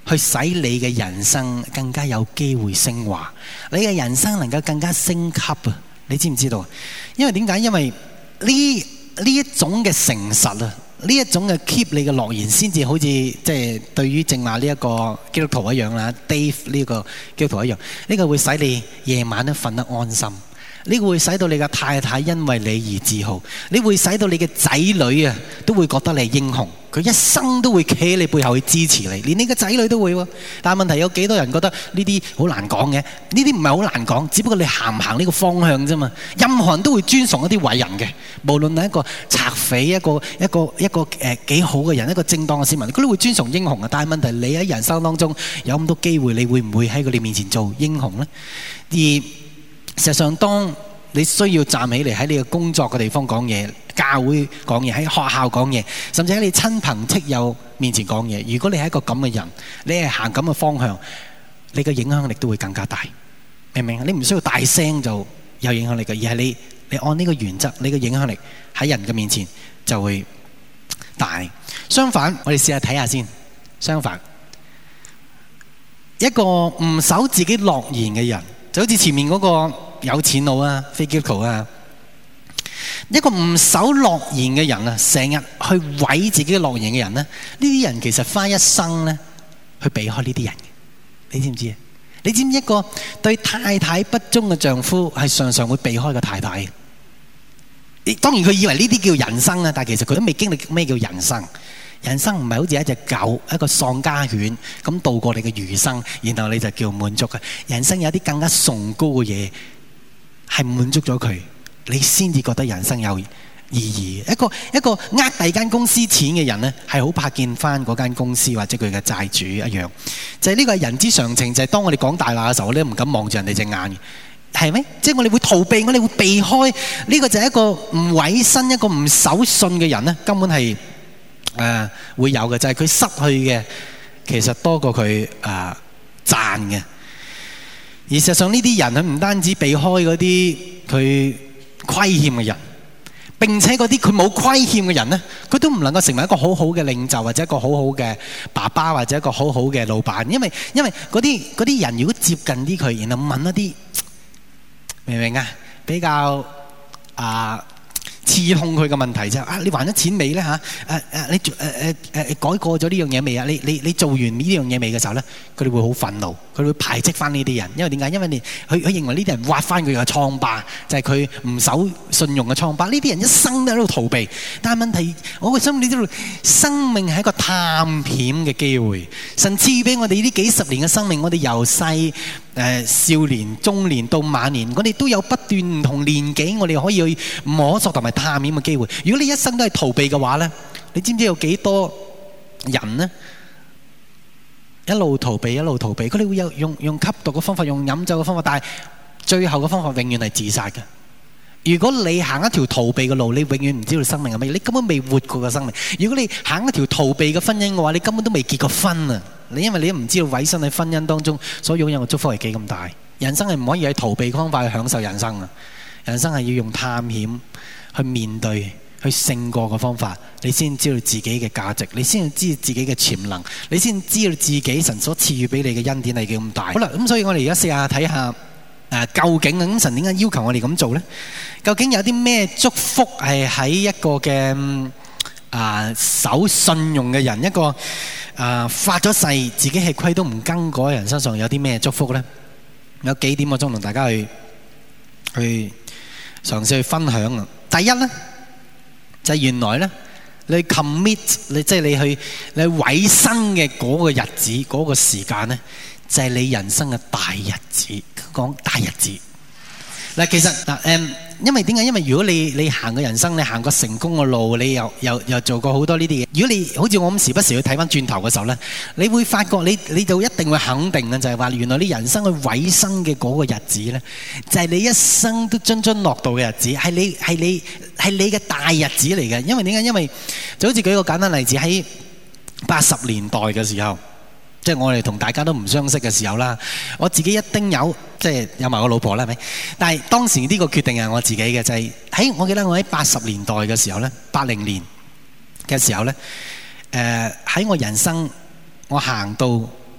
去使你嘅人生更加有機會升華，你嘅人生能夠更加升級啊！你知唔知道？因為點解？因為呢呢一種嘅誠實啊，呢一種嘅 keep 你嘅諾言，先至好似即係對於正話呢一個基督徒一樣啦 ，Dave 呢個基督徒一樣，呢個會使你夜晚都瞓得安心。呢個會使到你嘅太太因為你而自豪，你會使到你嘅仔女啊都會覺得你係英雄，佢一生都會企喺你背後去支持你，連你嘅仔女都會喎。但係問題有幾多人覺得呢啲好難講嘅？呢啲唔係好難講，只不過你行唔行呢個方向啫嘛。任何人都會尊崇一啲偉人嘅，無論係一個賊匪、一個一個一個誒幾好嘅人、一個正當嘅市民，佢都會尊崇英雄嘅。但係問題你喺人生當中有咁多機會，你會唔會喺佢哋面前做英雄呢？而事實上，當你需要站起嚟喺你嘅工作嘅地方講嘢，教會講嘢，喺學校講嘢，甚至喺你親朋戚友面前講嘢，如果你係一個咁嘅人，你係行咁嘅方向，你嘅影響力都會更加大，明唔明啊？你唔需要大聲就有影響力嘅，而係你你按呢個原則，你嘅影響力喺人嘅面前就會大。相反，我哋試下睇下先。相反，一個唔守自己諾言嘅人，就好似前面嗰個有錢佬啊，非基督徒啊，一個唔守諾言嘅人啊，成日去毀自己嘅諾言嘅人咧，呢啲人其實花一生咧去避開呢啲人，你知唔知啊？你知唔知一個對太太不忠嘅丈夫係常常會避開個太太嘅？當然佢以為呢啲叫人生啊，但係其實佢都未經歷咩叫人生。人生唔係好似一隻狗，一個喪家犬咁度過你嘅餘生，然後你就叫滿足嘅。人生有啲更加崇高嘅嘢係滿足咗佢，你先至覺得人生有意義。一個一個呃第二間公司錢嘅人呢，係好怕見翻嗰間公司或者佢嘅債主一樣。就係呢個係人之常情，就係當我哋講大話嘅時候，我哋都唔敢望住人哋隻眼嘅，係咪？即係我哋會逃避，我哋會避開。呢個就係一個唔委身、一個唔守信嘅人呢，根本係。誒、呃、會有嘅，就係、是、佢失去嘅其實多過佢誒賺嘅。而事實上呢啲人佢唔單止避開嗰啲佢虧欠嘅人，並且嗰啲佢冇虧欠嘅人呢，佢都唔能夠成為一個好好嘅領袖，或者一個好好嘅爸爸，或者一個好好嘅老闆。因為因為嗰啲嗰啲人如果接近啲佢，然後問一啲明唔明啊？比較啊。刺痛佢嘅問題就係啊，你還咗錢未咧嚇？誒誒，你誒誒誒改過咗呢樣嘢未啊？你你你做完呢樣嘢未嘅時候咧，佢哋會好憤怒，佢哋會排斥翻呢啲人，因為點解？因為你佢佢認為呢啲人挖翻佢嘅瘡疤，就係佢唔守信用嘅瘡疤。呢啲人一生都喺度逃避，但係問題，我個心你知道，生命係一個探險嘅機會。神賜俾我哋呢幾十年嘅生命，我哋由細誒少年、中年到晚年，我哋都有不斷唔同年紀，我哋可以去摸索同埋探險嘅機會。如果你一生都係逃避嘅話咧，你知唔知有幾多人呢？一路逃避，一路逃避，佢哋會有用用吸毒嘅方法，用飲酒嘅方法，但係最後嘅方法永遠係自殺嘅。如果你行一條逃避嘅路，你永遠唔知道生命係乜嘢，你根本未活過嘅生命。如果你行一條逃避嘅婚姻嘅話，你根本都未結過婚啊！你因為你都唔知道委身喺婚姻當中所擁有嘅祝福係幾咁大。人生係唔可以喺逃避嘅方法去享受人生啊！人生係要用探險去面對、去勝過嘅方法，你先知道自己嘅價值，你先知道自己嘅潛能，你先知道自己神所賜予俾你嘅恩典係幾咁大。好啦，咁所以我哋而家試下睇下。誒，究竟咁神點解要求我哋咁做呢？究竟有啲咩祝福係喺一個嘅啊守信用嘅人，一個啊發咗誓自己係虧都唔更改嘅人身上有啲咩祝福呢？有幾點我想同大家去去嘗試去分享啊！第一呢，就係原來呢，你 commit 你即係你去你委身嘅嗰個日子嗰個時間呢，就係你人生嘅大日子。講大日子嗱，其實嗱誒，因為點解？因為如果你你行個人生，你行個成功嘅路，你又又又做過好多呢啲嘢。如果你好似我咁時不時去睇翻轉頭嘅時候咧，你會發覺你你就一定會肯定嘅，就係話原來你人生去委身嘅嗰個日子咧，就係你一生都津津樂道嘅日子，係你係你係你嘅大日子嚟嘅。因為點解？因為就好似舉個簡單例子，喺八十年代嘅時候。即係我哋同大家都唔相識嘅時候啦，我自己一丁有，即係有埋我老婆啦，係咪？但係當時呢個決定係我自己嘅，就係喺我記得我喺八十年代嘅時候咧，八零年嘅時候咧，誒喺我人生我行到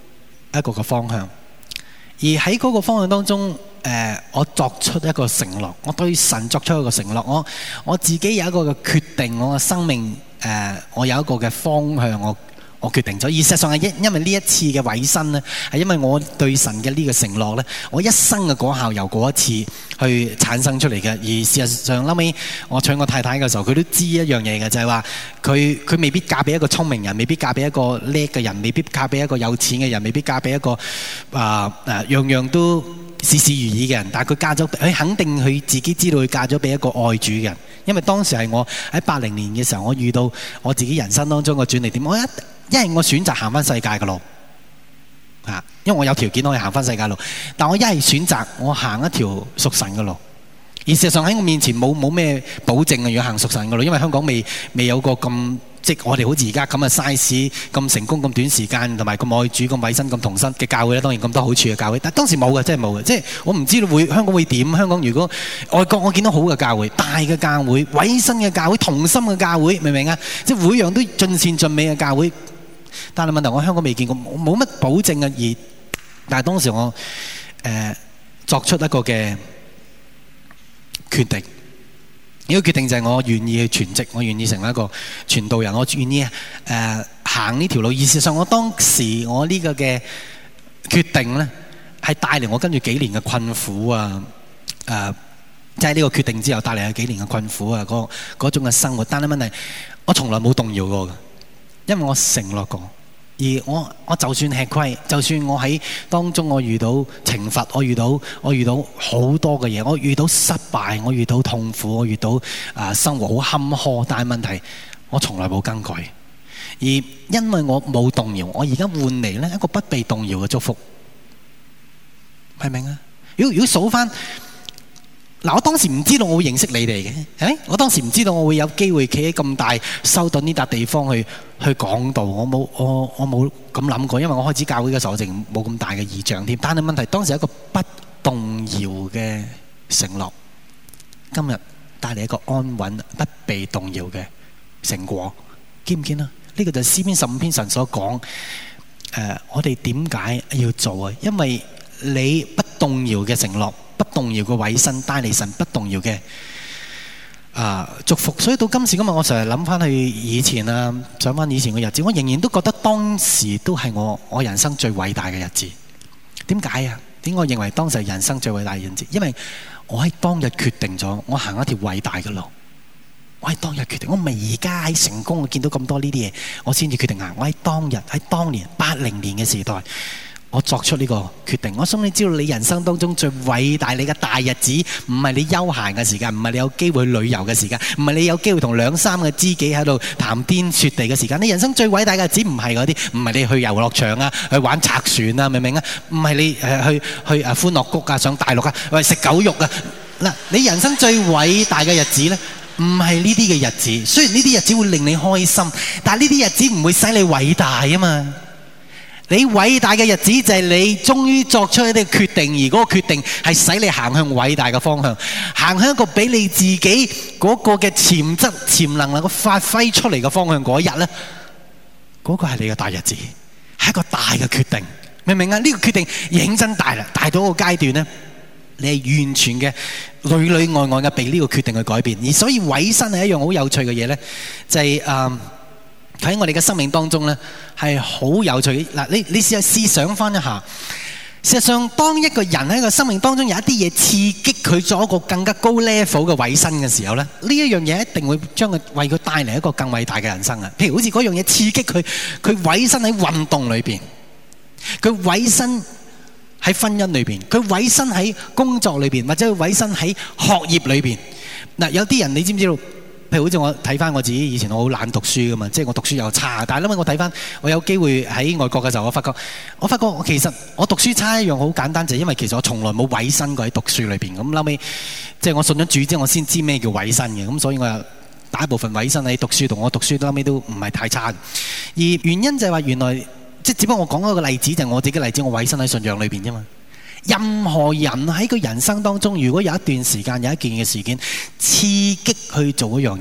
一個嘅方向。而喺嗰個方向當中，誒、呃，我作出一個承諾，我對神作出一個承諾，我我自己有一個嘅決定，我嘅生命，誒、呃，我有一個嘅方向，我我決定咗。而事實上係因因為呢一次嘅委身呢，係因為我對神嘅呢個承諾呢，我一生嘅果效由嗰一次去產生出嚟嘅。而事實上後尾我娶我太太嘅時候，佢都知一樣嘢嘅，就係話佢佢未必嫁俾一個聰明人，未必嫁俾一個叻嘅人，未必嫁俾一個有錢嘅人，未必嫁俾一個啊啊樣樣都事事如意嘅人。但係佢嫁咗，佢肯定佢自己知道佢嫁咗俾一個愛主嘅人。因為當時係我喺八零年嘅時候，我遇到我自己人生當中嘅轉捩點。我一因為我選擇行翻世界嘅路，啊，因為我有條件可以行翻世界路，但我一係選擇我行一條屬神嘅路。而事實上喺我面前冇冇咩保證啊，要行屬神嘅路，因為香港未未有個咁即係我哋好似而家咁嘅 size 咁成功咁短時間，同埋咁愛主咁委身咁同心嘅教會咧，當然咁多好處嘅教會，但當時冇嘅，真係冇嘅。即係我唔知道會香港會點。香港如果外國我見到好嘅教會、大嘅教會、委身嘅教會、同心嘅教會，明唔明啊？即係每樣都盡善盡美嘅教會。但係問題我香港未見過，冇乜保證啊。而但係當時我誒、呃、作出一個嘅決定，呢、這個決定就係我願意去全職，我願意成為一個傳道人，我願意誒、呃、行呢條路。而事實上我當時我呢個嘅決定咧，係帶嚟我跟住幾年嘅困苦啊！誒即係呢個決定之後帶嚟幾年嘅困苦啊！嗰嗰種嘅生活，但係問題我從來冇動搖過嘅。因為我承諾過，而我我就算吃虧，就算我喺當中我遇到懲罰，我遇到我遇到好多嘅嘢，我遇到失敗，我遇到痛苦，我遇到啊、呃、生活好坎坷，但係問題我從來冇更改，而因為我冇動搖，我而家換嚟呢一個不被動搖嘅祝福，明唔明啊？如果如果數翻。嗱，我當時唔知道我會認識你哋嘅，誒，我當時唔知道我會有機會企喺咁大修頓呢笪地方去去講道，我冇我我冇咁諗過，因為我開始教會嘅時候，我淨冇咁大嘅異象添。但係問題當時係一個不動搖嘅承諾，今日帶嚟一個安穩、不被動搖嘅成果，見唔見啊？呢、這個就係詩篇十五篇神所講，誒、呃，我哋點解要做啊？因為你不動搖嘅承諾。不動搖嘅委身帶嚟神不動搖嘅啊祝福，所以到今時今日，我成日諗翻去以前啊，想翻以前嘅日子，我仍然都覺得當時都係我我人生最偉大嘅日子。點解啊？點解我認為當時係人生最偉大嘅日子？因為我喺當日決定咗，我行一條偉大嘅路。我喺當日決定，我唔係而家喺成功，我見到咁多呢啲嘢，我先至決定行。我喺當日喺當年八零年嘅時代。我作出呢個決定，我想你知道你人生當中最偉大你嘅大日子，唔係你休閒嘅時間，唔係你有機會旅遊嘅時間，唔係你有機會同兩三個知己喺度談天說地嘅時間。你人生最偉大嘅日子唔係嗰啲，唔係你去遊樂場啊，去玩拆船啊，明唔明啊？唔係你誒去去誒歡樂谷啊，上大陸啊，喂食狗肉啊。嗱，你人生最偉大嘅日子咧，唔係呢啲嘅日子。雖然呢啲日子會令你開心，但係呢啲日子唔會使你偉大啊嘛。你偉大嘅日子就係你終於作出一啲決定，而嗰個決定係使你行向偉大嘅方向，行向一個俾你自己嗰個嘅潛質、潛能能夠發揮出嚟嘅方向嗰一日咧，嗰個係你嘅大日子，係一個大嘅決定，明唔明啊？呢個決定認真大啦，大到一個階段咧，你係完全嘅裏裏外外嘅被呢個決定去改變，而所以委身係一樣好有趣嘅嘢咧，就係誒。喺我哋嘅生命當中呢，係好有趣嘅。嗱，你你試下試想翻一下，事實上，當一個人喺個生命當中有一啲嘢刺激佢做一個更加高 level 嘅委身嘅時候呢，呢一樣嘢一定會將佢為佢帶嚟一個更偉大嘅人生啊！譬如好似嗰樣嘢刺激佢，佢委身喺運動裏邊，佢委身喺婚姻裏邊，佢委身喺工作裏邊，或者佢委身喺學業裏邊。嗱，有啲人你知唔知道？譬如好似我睇翻我自己以前，我好懶讀書噶嘛，即係我讀書又差。但係因為我睇翻，我有機會喺外國嘅時候，我發覺，我發覺我其實我讀書差一樣好簡單，就係因為其實我從來冇委身過喺讀書裏邊。咁後尾即係我信咗主之後，我先知咩叫委身嘅。咁所以我又大一部分委身喺讀書度，我讀書後尾都唔係太差。而原因就係話原來即係只不過我講一個例子，就係我自己嘅例子，我委身喺信仰裏邊啫嘛。任何人喺佢人生當中，如果有一段時間有一件嘅事件刺激去做一樣嘢，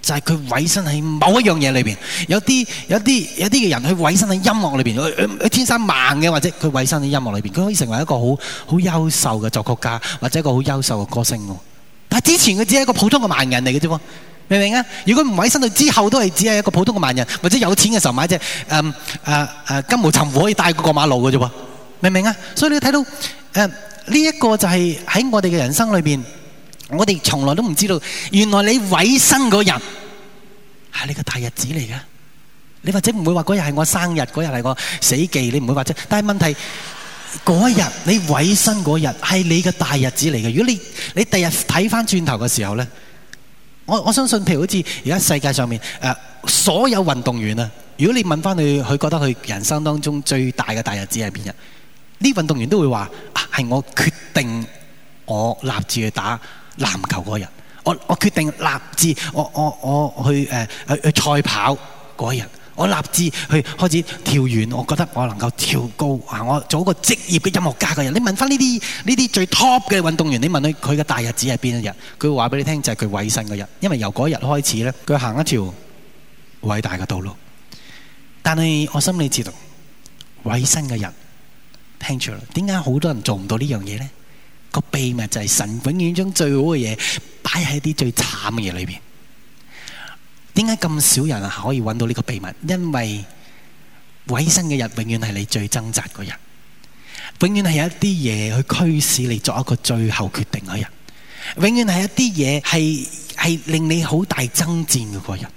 就係佢委身喺某一樣嘢裏邊。有啲有啲有啲嘅人佢委身喺音樂裏邊，佢佢天生盲嘅，或者佢委身喺音樂裏邊，佢可以成為一個好好優秀嘅作曲家，或者一個好優秀嘅歌星喎。但係之前佢只係一個普通嘅盲人嚟嘅啫喎，明唔明啊？如果唔委身到之後，都係只係一個普通嘅盲人，或者有錢嘅時候買隻誒誒誒金毛尋虎可以帶過馬路嘅啫喎，明唔明啊？所以你睇到誒呢一個就係喺我哋嘅人生裏邊，我哋從來都唔知道，原來你委身嗰日係你個大日子嚟嘅。你或者唔會話嗰日係我生日，嗰日係我死忌，你唔會話啫。但係問題嗰日你委身嗰日係你嘅大日子嚟嘅。如果你你第日睇翻轉頭嘅時候咧，我我相信譬如好似而家世界上面誒、呃、所有運動員啊，如果你問翻佢，佢覺得佢人生當中最大嘅大日子係邊日？呢運動員都會話啊，係我決定我立志去打籃球嗰日，我我決定立志我我我去誒、呃、去去賽跑嗰日。我立志去開始跳遠，我覺得我能夠跳高啊！我做一個職業嘅音樂家嘅人。你問翻呢啲呢啲最 top 嘅運動員，你問佢佢嘅大日子係邊一日？佢會話俾你聽，就係佢委身嗰日。因為由嗰日開始咧，佢行一條偉大嘅道路。但係我心裏知道，委身嘅人聽住啦。點解好多人做唔到呢樣嘢咧？個秘密就係神永遠將最好嘅嘢擺喺啲最慘嘅嘢裏邊。點解咁少人可以揾到呢個秘密？因為委身嘅日永遠係你最掙扎嗰日，永遠係有一啲嘢去驅使你作一個最後決定嗰日，永遠係一啲嘢係係令你好大爭戰嘅嗰日。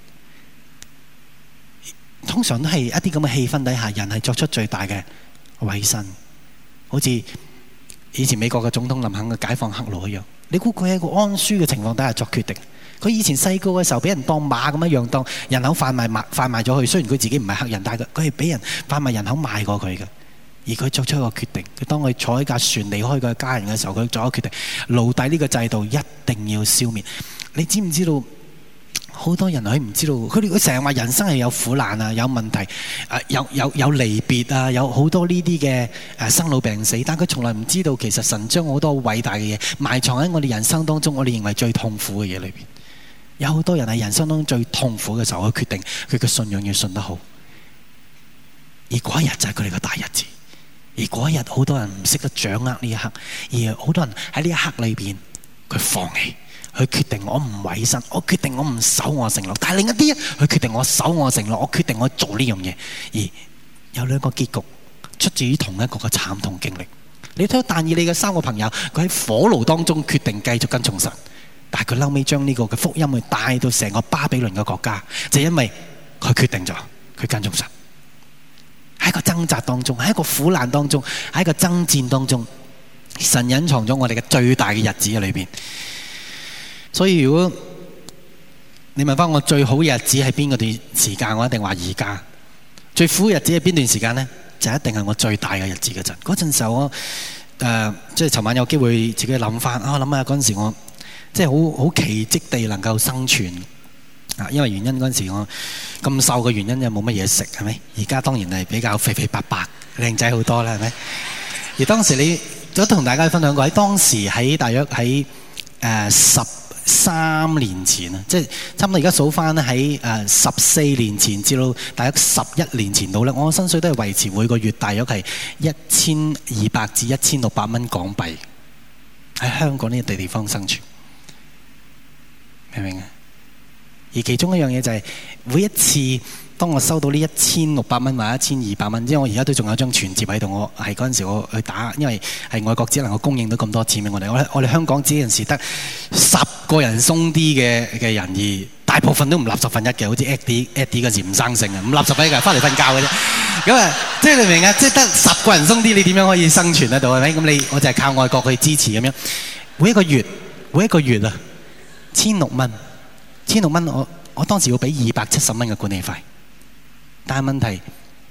通常都係一啲咁嘅氣氛底下，人係作出最大嘅委身。好似以前美國嘅總統林肯嘅解放黑奴一樣，你估佢喺一個安舒嘅情況底下作決定？佢以前細個嘅時候俾人當馬咁樣樣，當人口販賣賣販賣咗佢。雖然佢自己唔係黑人，但係佢係俾人販賣人口賣過佢嘅。而佢作出一個決定，佢當佢坐喺架船離開佢家人嘅時候，佢作一個決定：奴隸呢個制度一定要消滅。你知唔知道？好多人佢唔知道，佢哋佢成日話人生係有苦難啊，有問題，誒有有有離別啊，有好多呢啲嘅誒生老病死，但佢從來唔知道，其實神將好多偉大嘅嘢埋藏喺我哋人生當中，我哋認為最痛苦嘅嘢裏邊。有好多人喺人生當中最痛苦嘅時候，佢決定佢嘅信仰要信得好，而嗰一日就係佢哋嘅大日子。而嗰一日好多人唔識得掌握呢一刻，而好多人喺呢一刻裏邊佢放棄。佢決定我唔委身，我決定我唔守我承諾。但係另一啲，佢決定我守我承諾，我決定我做呢樣嘢。而有兩個結局出自於同一個嘅慘痛經歷。你睇到但以理嘅三個朋友，佢喺火爐當中決定繼續跟從神，但係佢後尾將呢個嘅福音去帶到成個巴比倫嘅國家，就係因為佢決定咗佢跟從神。喺一個掙扎當中，喺一個苦難當中，喺一個爭戰當中，神隱藏咗我哋嘅最大嘅日子喺裏邊。所以如果你問翻我最好嘅日子係邊個段時間，我一定話而家。最苦嘅日子係邊段時間呢？就一定係我最大嘅日子嗰陣。嗰陣時候我誒、呃，即係尋晚有機會自己諗翻啊，諗下嗰陣時我即係好好奇蹟地能夠生存啊。因為原因嗰陣時我咁瘦嘅原因就冇乜嘢食，係咪？而家當然係比較肥肥白白、靚仔好多啦，係咪？而當時你都同大家分享過，喺當時喺大約喺誒十三年前啊，即係差唔多而家數翻咧，喺誒十四年前至到大約十一年前到咧，我薪水都係維持每個月大約係一千二百至一千六百蚊港幣，喺香港呢個地地方生存，明唔明啊？而其中一樣嘢就係、是、每一次當我收到呢一千六百蚊或者一千二百蚊，因為我而家都仲有張存摺喺度，我係嗰陣時我去打，因為係外國只能夠供應到咁多錢俾我哋，我我哋香港只陣時得十個人鬆啲嘅嘅人，而大部分都唔立十分一嘅，好似 Eddie Eddie 嗰時唔生性啊，唔立十分一嘅，翻嚟瞓覺嘅啫。咁啊，即係你明啊？即係得十個人鬆啲，你點樣可以生存得到係咪？咁你我就係靠外國去支持咁樣，每一個月每一個月啊，千六蚊，千六蚊，我我當時要俾二百七十蚊嘅管理費。但係問題，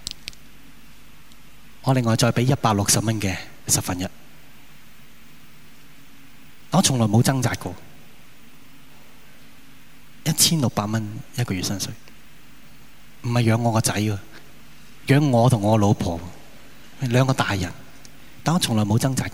我另外再俾一百六十蚊嘅十分一，我從來冇掙扎過，一千六百蚊一個月薪水，唔係養我個仔喎，養我同我老婆兩個大人，但我從來冇掙扎過，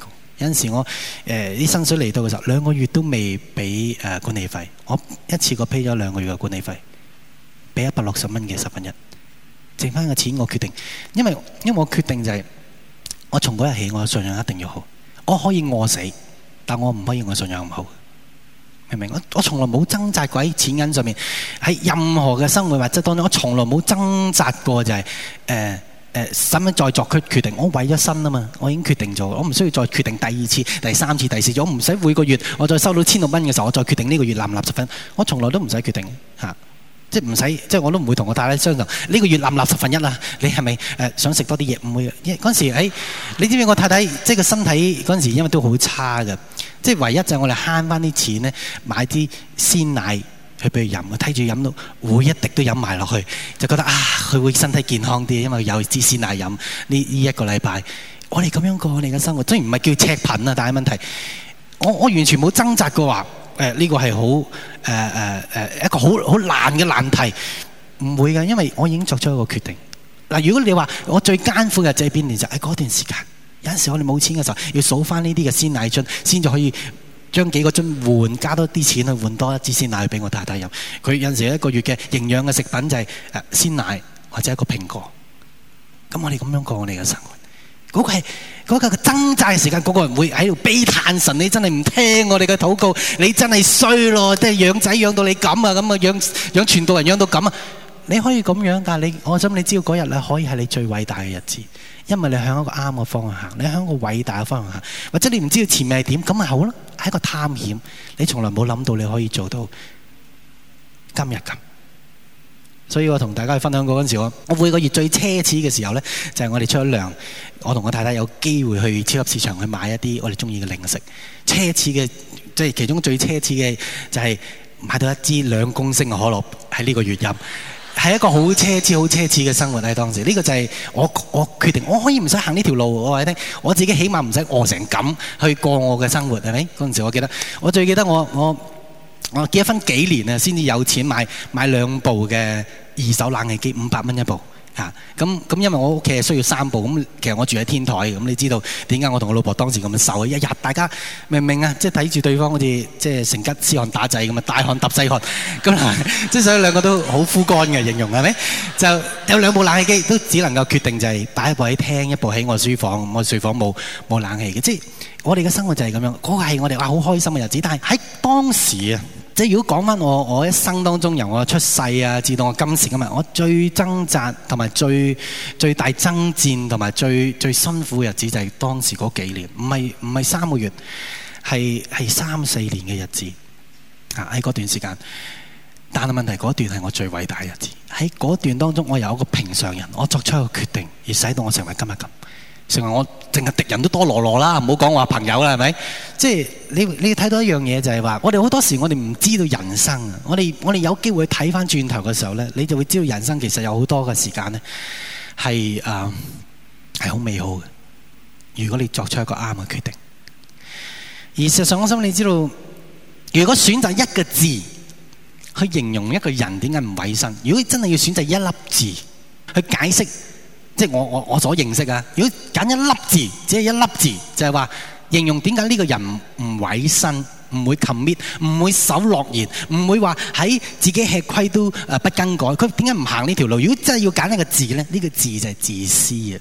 有陣時我誒啲薪水嚟到嘅時候，兩個月都未俾誒管理費，我一次過 pay 咗兩個月嘅管理費，俾一百六十蚊嘅十分一，剩翻嘅錢我決定，因為因為我決定就係、是、我從嗰日起，我嘅信仰一定要好。我可以餓死，但我唔可以我信仰唔好。明唔明？我我從來冇掙扎過喺錢銀上面，喺任何嘅生活或者當中，我從來冇掙扎過就係誒誒使乜再作決決定。我為咗身啊嘛，我已經決定咗，我唔需要再決定第二次、第三次、第四次。我唔使每個月我再收到千六蚊嘅時候，我再決定呢個月納唔納十分。我從來都唔使決定嚇。即係唔使，即係我都唔會同我太太商量呢個月納唔納十分一啦。你係咪誒想食多啲嘢？唔會。因為嗰陣時喺，你知唔知我太太即係個身體嗰陣時，因為都好差嘅。即係唯一就係我哋慳翻啲錢咧，買啲鮮奶去俾佢飲。我睇住飲到每一滴都飲埋落去，就覺得啊，佢會身體健康啲，因為有支鮮奶飲。呢呢一個禮拜，我哋咁樣過我哋嘅生活，雖然唔係叫赤貧啊，但係問題，我我完全冇掙扎過話。誒、呃、呢、這個係好誒誒誒一個好好難嘅難題，唔會嘅，因為我已經作出一個決定。嗱、呃，如果你話我最艱苦嘅就係邊年就係嗰段時間，有陣時我哋冇錢嘅時候，要數翻呢啲嘅鮮奶樽，先至可以將幾個樽換加多啲錢去換多一支鮮奶去俾我太太飲。佢有陣時一個月嘅營養嘅食品就係誒鮮奶或者一個蘋果。咁我哋咁樣過我哋嘅生活。嗰、那個係嗰、那個掙扎嘅時間，嗰、那個人會喺度悲嘆神，你真係唔聽我哋嘅禱告，你真係衰咯，即係養仔養到你咁啊，咁啊養養傳道人養到咁啊，你可以咁樣，但係你我想你知道嗰日咧可以係你最偉大嘅日子，因為你向一個啱嘅方向行，你向一個偉大嘅方向行，或者你唔知道前面係點，咁咪好咯，係一個探險，你從來冇諗到你可以做到今日咁。所以我同大家去分享過嗰陣時，我我每個月最奢侈嘅時候咧，就係、是、我哋出咗糧，我同我太太有機會去超級市場去買一啲我哋中意嘅零食。奢侈嘅即係其中最奢侈嘅就係買到一支兩公升嘅可樂喺呢個月飲，係一個好奢侈、好奢侈嘅生活喺當時。呢、這個就係我我決定，我可以唔使行呢條路，我話你聽，我自己起碼唔使餓成咁去過我嘅生活，係咪？嗰陣時我記得，我最記得我我我結咗婚幾年啊，先至有錢買買兩部嘅二手冷氣機，五百蚊一部嚇。咁咁因為我屋企係需要三部，咁其實我住喺天台，咁你知道點解我同我老婆當時咁瘦？一日大家明唔明啊？即係睇住對方好似即係成吉思汗打仔咁啊，大汗揼細汗，咁即係所以兩個都好枯乾嘅形容係咪？就有兩部冷氣機，都只能夠決定就係擺一部喺廳，一部喺我書房。我書房冇冇冷氣嘅，即係我哋嘅生活就係咁樣。嗰個係我哋話好開心嘅日子，但係喺當時啊。即係如果講翻我我一生當中由我出世啊，至到我今時今日，我最掙扎同埋最最大爭戰同埋最最辛苦嘅日子就係當時嗰幾年，唔係唔係三個月，係係三四年嘅日子啊！喺嗰段時間，但係問題嗰段係我最偉大嘅日子。喺嗰段當中，我由一個平常人，我作出一個決定，而使到我成為今日咁。成為我淨係敵人都多羅羅啦，唔好講話朋友啦，係咪？即係你你睇到一樣嘢就係話，我哋好多時我哋唔知道人生啊！我哋我哋有機會睇翻轉頭嘅時候咧，你就會知道人生其實有好多嘅時間咧係誒係好美好嘅。如果你作出一個啱嘅決定，而事實上我想你知道，如果選擇一個字去形容一個人點解唔委身，如果真係要選擇一粒字去解釋。即係我我我所認識啊！如果揀一粒字，只係一粒字，就係話形容點解呢個人唔委身，唔會 commit，唔會守諾言，唔會話喺自己吃虧都誒不更改。佢點解唔行呢條路？如果真係要揀一個字咧，呢個字就係自私啊！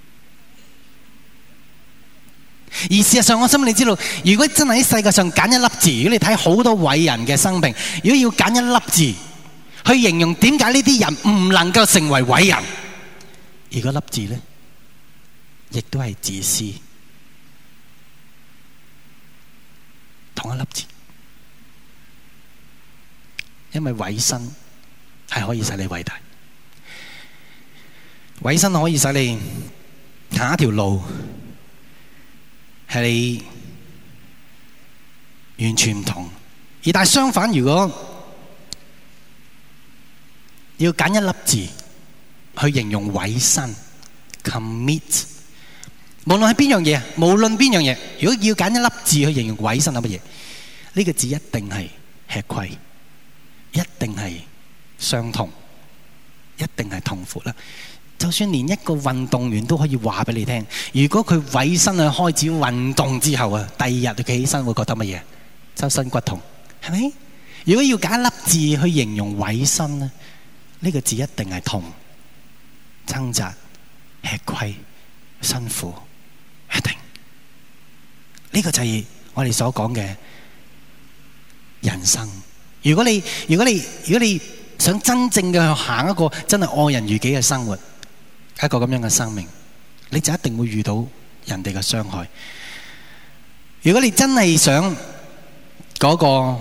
而事實上，我想你知道，如果真係喺世界上揀一粒字，如果你睇好多偉人嘅生命，如果要揀一粒字去形容點解呢啲人唔能夠成為偉人？而嗰粒字咧，亦都係自私，同一粒字，因為委身係可以使你偉大，委身可以使你行一條路，係你完全唔同。而但係相反，如果要揀一粒字去形容委身 commit， 無論係邊樣嘢，無論邊樣嘢，如果要揀一粒字去形容委身係乜嘢，呢個字一定係吃虧，一定係傷痛，一定係痛苦啦。 就算連一個運動員都可以話俾你聽，如果佢委身去開始運動之後啊，第二日佢企起身會覺得乜嘢？周身骨痛，係咪？如果要揀一粒字去形容委身咧，呢個字一定係痛、掙扎、吃虧、辛苦，一定。呢個就係我哋所講嘅人生。如果你如果你如果你想真正嘅去行一個真係愛人如己嘅生活，一個咁樣嘅生命，你就一定會遇到人哋嘅傷害。如果你真係想嗰個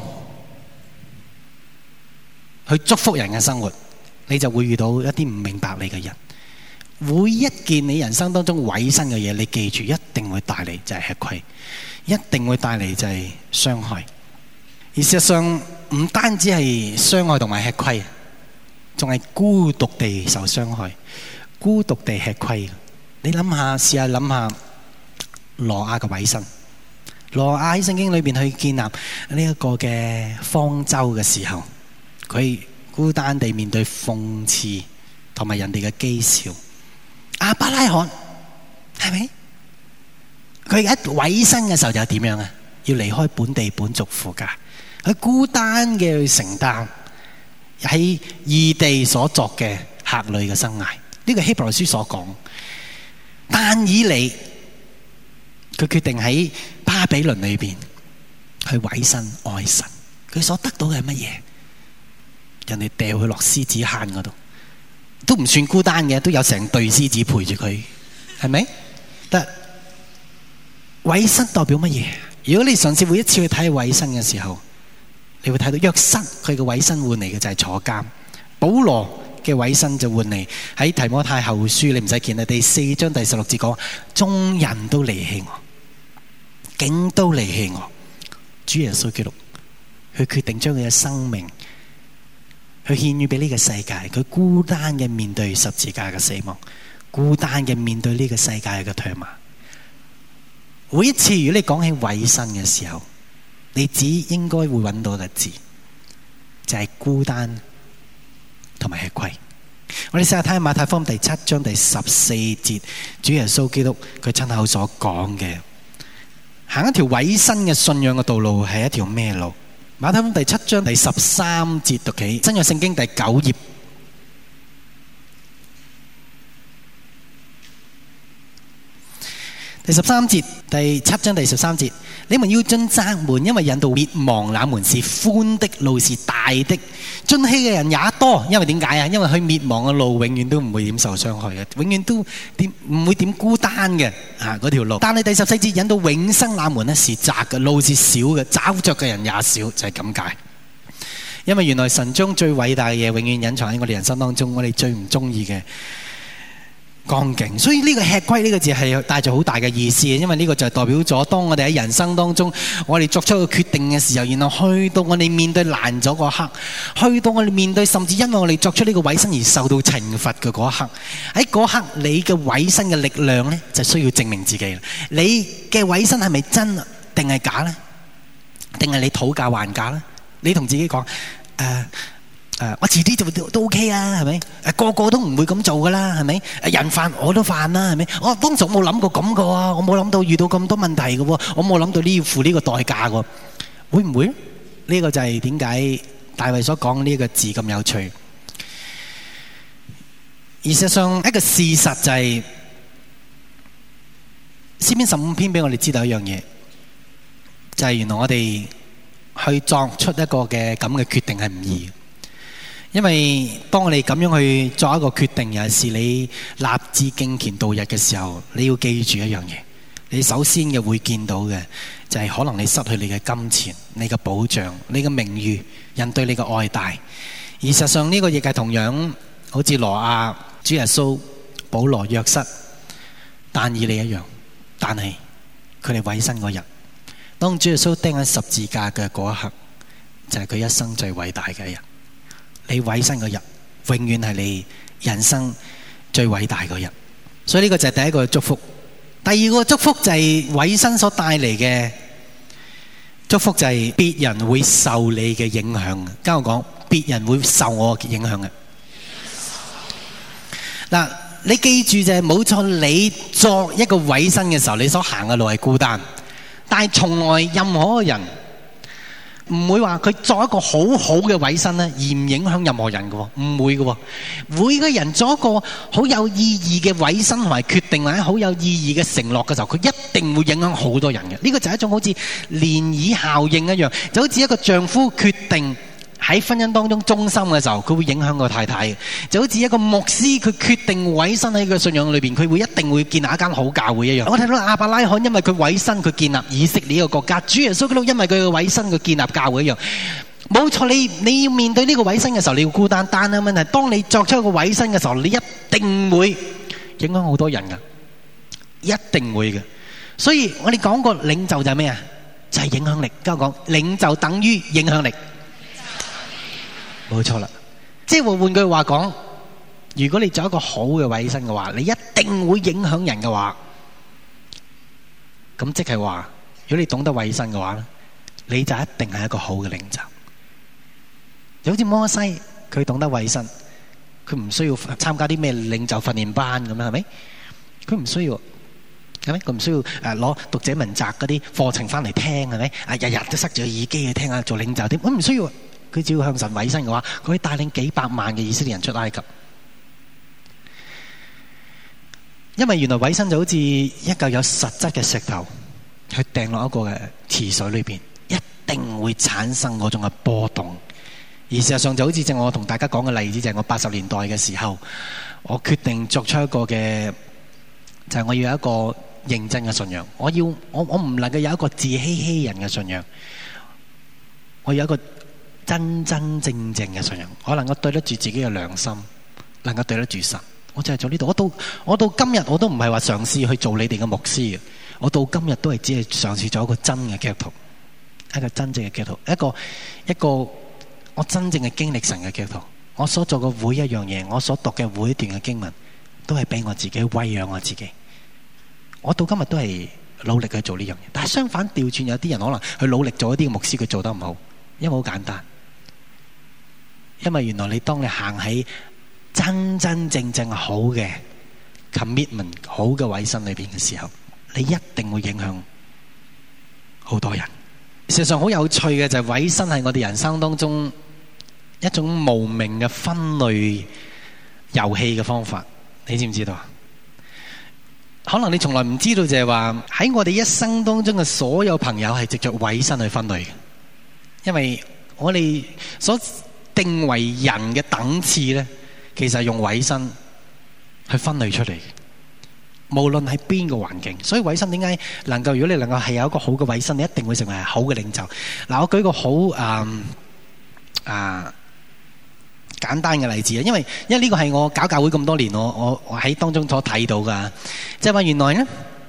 去祝福人嘅生活，你就會遇到一啲唔明白你嘅人。每一件你人生當中委身嘅嘢，你記住一定會帶嚟就係吃虧，一定會帶嚟就係傷害。而事實上唔單止係傷害同埋吃虧，仲係孤獨地受傷害，孤獨地吃虧。你諗下，試下諗下挪亞嘅委身。挪亞喺聖經裏邊去建立呢一個嘅方舟嘅時候，佢孤單地面對諷刺同埋人哋嘅譏笑。亞伯拉罕係咪？佢一委身嘅時候就點樣啊？要離開本地本族父家，佢孤單嘅去承擔喺異地所作嘅客旅嘅生涯。呢個希伯來書所講，但以理佢決定喺巴比倫裏邊去委身愛神，佢所得到嘅係乜嘢？人哋掉佢落獅子坑嗰度，都唔算孤單嘅，都有成隊獅子陪住佢，係咪？但委身代表乜嘢？如果你嘗試每一次去睇委身嘅時候，你會睇到約瑟佢嘅委身換嚟嘅就係坐監，保羅嘅委身就換嚟喺提摩太後書，你唔使見啦，第四章第十六節講，眾人都離棄我，竟都離棄我。主耶穌基督，佢決定將佢嘅生命去獻予俾呢個世界，佢孤單嘅面對十字架嘅死亡，孤單嘅面對呢個世界嘅唾罵。每一次如果你講起委身嘅時候，你只應該會揾到一個字，就係孤單同埋吃虧。我哋試下睇下馬太福音第七章第十四節，主耶穌基督佢親口所講嘅，行一條委身嘅信仰嘅道路係一條咩路？馬太福音第七章第十三節讀起，新約聖經第九頁。第十三節，第七章第十三節，你們要進窄門，因為引導滅亡那門是寬的，路是大的，進去嘅人也多。因為點解啊？因為去滅亡嘅路永遠都唔會點受傷害嘅，永遠都點唔會點孤單嘅啊嗰條路。但係第十四節引到永生那門呢是窄嘅，路是小嘅，找着嘅人也少，就係咁解。因為原來神將最偉大嘅嘢永遠隱藏喺我哋人生當中，我哋最唔中意嘅光景，所以呢個吃虧呢個字係帶住好大嘅意思，因為呢個就係代表咗當我哋喺人生當中，我哋作出一個決定嘅時候，然後去到我哋面對難咗嗰刻，去到我哋面對甚至因為我哋作出呢個委身而受到懲罰嘅嗰一刻，喺嗰刻你嘅委身嘅力量呢，就需要證明自己。你嘅委身係咪真定係假呢？定係你討價還價呢？你同自己講誒。呃Uh, 我遲啲就都，都 OK 啊，係咪？誒個個都唔會咁做噶啦，係咪？誒人犯我都犯啦，係咪？我當時冇諗過咁嘅喎，我冇諗到遇到咁多問題嘅喎，我冇諗到呢要付呢個代價嘅喎，會唔會？呢、呢個就係點解大衛所講呢個字咁有趣。而事實上一個事實就係詩篇十五篇俾我哋知道一樣嘢，就係、是、原來我哋去作出一個嘅咁嘅決定係唔易。因為當我哋咁樣去做一個決定，尤其是你立志敬虔度日嘅時候，你要記住一樣嘢，你首先嘅會見到嘅就係可能你失去你嘅金錢、你嘅保障、你嘅名譽、人對你嘅愛戴。而實際上呢個亦係同樣好似挪亞、主耶穌、保羅、約瑟、但以理一樣，但係佢哋委身嗰日，當主耶穌釘喺十字架嘅嗰一刻，就係佢一生最偉大嘅一日。你委身嗰日，永遠係你人生最偉大嗰日。所以呢個就係第一個祝福。第二個祝福就係委身所帶嚟嘅祝福，就係別人會受你嘅影響。跟我講，別人會受我嘅影響嘅。嗱， 你記住就係冇錯，你作一個委身嘅時候，你所行嘅路係孤單，但係從來任何一個人唔會話佢作一個好好嘅委身咧，而唔影響任何人嘅喎，唔會嘅喎。每個人作一個好有意義嘅委身同埋決定，或者好有意義嘅承諾嘅時候，佢一定會影響好多人嘅。呢個就係一種好似漣漪效應一樣，就好似一個丈夫決定喺婚姻當中忠心嘅時候，佢會影響個太太嘅。就好似一個牧師，佢決定委身喺個信仰裏邊，佢會一定會建立一間好教會一樣。我睇到亞伯拉罕因為佢委身，佢建立以色列呢個國家；主耶穌基督因為佢嘅委身，佢建立教會一樣。冇錯，你你要面對呢個委身嘅時候，你要孤單。但係問題，當你作出一個委身嘅時候，你一定會影響好多人㗎，一定會嘅。所以我哋講過領袖就係咩啊？就係影響力。跟我講，領袖等於影響力。冇錯啦，即係換句話講，如果你做一個好嘅委身嘅話，你一定會影響人嘅話，咁即係話，如果你懂得委身嘅話咧，你就一定係一個好嘅領袖。就好似摩西，佢懂得委身，佢唔需要參加啲咩領袖訓練班咁樣，係咪？佢唔需要，係咪？佢唔需要誒攞讀者文摘嗰啲課程翻嚟聽，係咪？啊，日日都塞住個耳機去聽下做領袖添，佢唔需要。佢只要向神委身嘅話，佢可以帶領幾百萬嘅以色列人出埃及。因為原來委身就好似一嚿有實質嘅石頭，去掟落一個嘅池水裏邊，一定會產生嗰種嘅波動。而事實上就好似正我同大家講嘅例子，就係我八十年代嘅時候，我決定作出一個嘅，就係我要有一個認真嘅信仰。我要我我唔能夠有一個自欺欺人嘅信仰，我有一個真真正正嘅信仰，我能夠對得住自己嘅良心，能夠對得住神。我就係做呢度。我到我到今日我都唔係話嘗試去做你哋嘅牧師嘅。我到今日都係只係嘗試做一個真嘅基督徒，一個真正嘅基督徒，一個一個我真正嘅經歷神嘅基督徒。我所做嘅每一樣嘢，我所讀嘅每一段嘅經文，都係俾我自己餵養我自己。我到今日都係努力去做呢樣嘢。但係相反調轉，有啲人可能去努力做一啲牧師，佢做得唔好，因為好簡單。因為原來你當你行喺真真正正好嘅 commitment 好嘅委身裏邊嘅時候，你一定會影響好多人。事實上好有趣嘅就係委身係我哋人生當中一種無名嘅分類遊戲嘅方法，你知唔知道？可能你從來唔知道就係話喺我哋一生當中嘅所有朋友係藉着委身去分類嘅，因為我哋所定為人嘅等次咧，其實係用委身去分類出嚟，無論喺邊個環境。所以委身點解能夠，如果你能夠係有一個好嘅委身，你一定會成為好嘅領袖。嗱，我舉個好啊啊簡單嘅例子啊，因為因為呢個係我搞教會咁多年，我我我喺當中所睇到噶，即係話原來咧，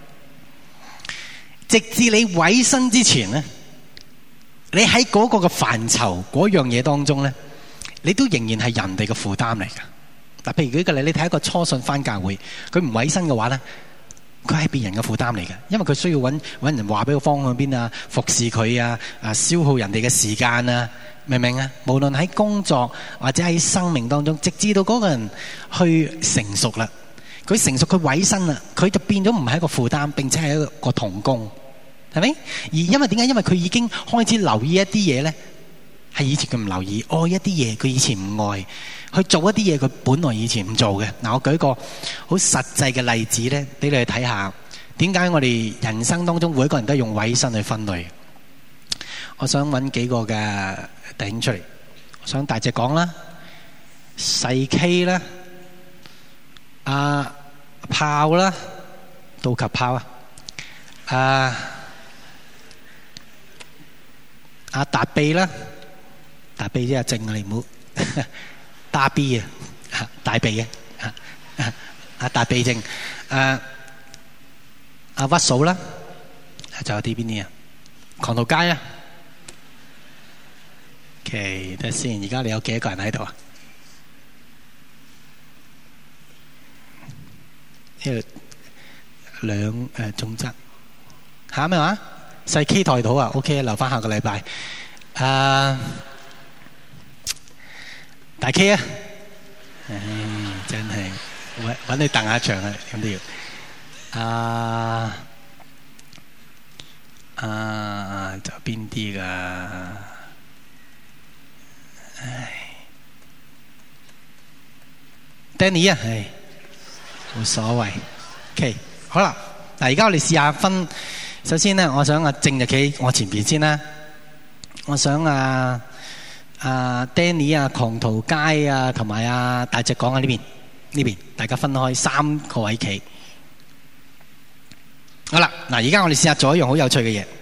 直至你委身之前咧，你喺嗰個嘅範疇嗰樣嘢當中咧，你都仍然係人哋嘅負擔嚟噶。嗱，譬如舉個例，你睇一個初信返教會，佢唔委身嘅話咧，佢係別人嘅負擔嚟嘅，因為佢需要揾揾人話俾佢方向邊啊，服侍佢啊，啊消耗人哋嘅時間啊，明唔明啊？無論喺工作或者喺生命當中，直至到嗰個人去成熟啦，佢成熟佢委身啦，佢就變咗唔係一個負擔，並且係一個同工，係咪？而因為點解？因為佢已經開始留意一啲嘢咧，係以前佢唔留意，愛一啲嘢佢以前唔愛，去做一啲嘢佢本來以前唔做嘅。嗱，我舉個好實際嘅例子咧，俾你去睇下點解我哋人生當中每一個人都用委身去分類。我想揾幾個嘅弟兄出嚟，我想大隻講啦，細 K 啦，阿炮啦，道及炮啊，阿阿達秘啦，達秘即係正啊，你唔好打 B 啊，大鼻啊，阿達秘正，阿阿屈嫂啦，仲有啲邊啲啊？狂徒街啊！OK，睇先，而家你有幾多個人喺度啊？呢度兩誒總則嚇咩話？細 K 台島啊 ，OK， 留翻下個禮拜。啊，大 K 啊，唉，真係揾你蹬下場啊，咁都要。啊啊，仲有邊啲㗎？唉 ，Danny 啊，係冇所謂。OK， 好啦，嗱，而家我哋試下分。首先咧，我想阿正就企我前邊先啦。我想啊啊 Danny 啊、狂徒街啊，同埋啊大隻講喺呢邊，呢邊大家分開三個位企。好啦，嗱，而家我哋試下做一樣好有趣嘅嘢。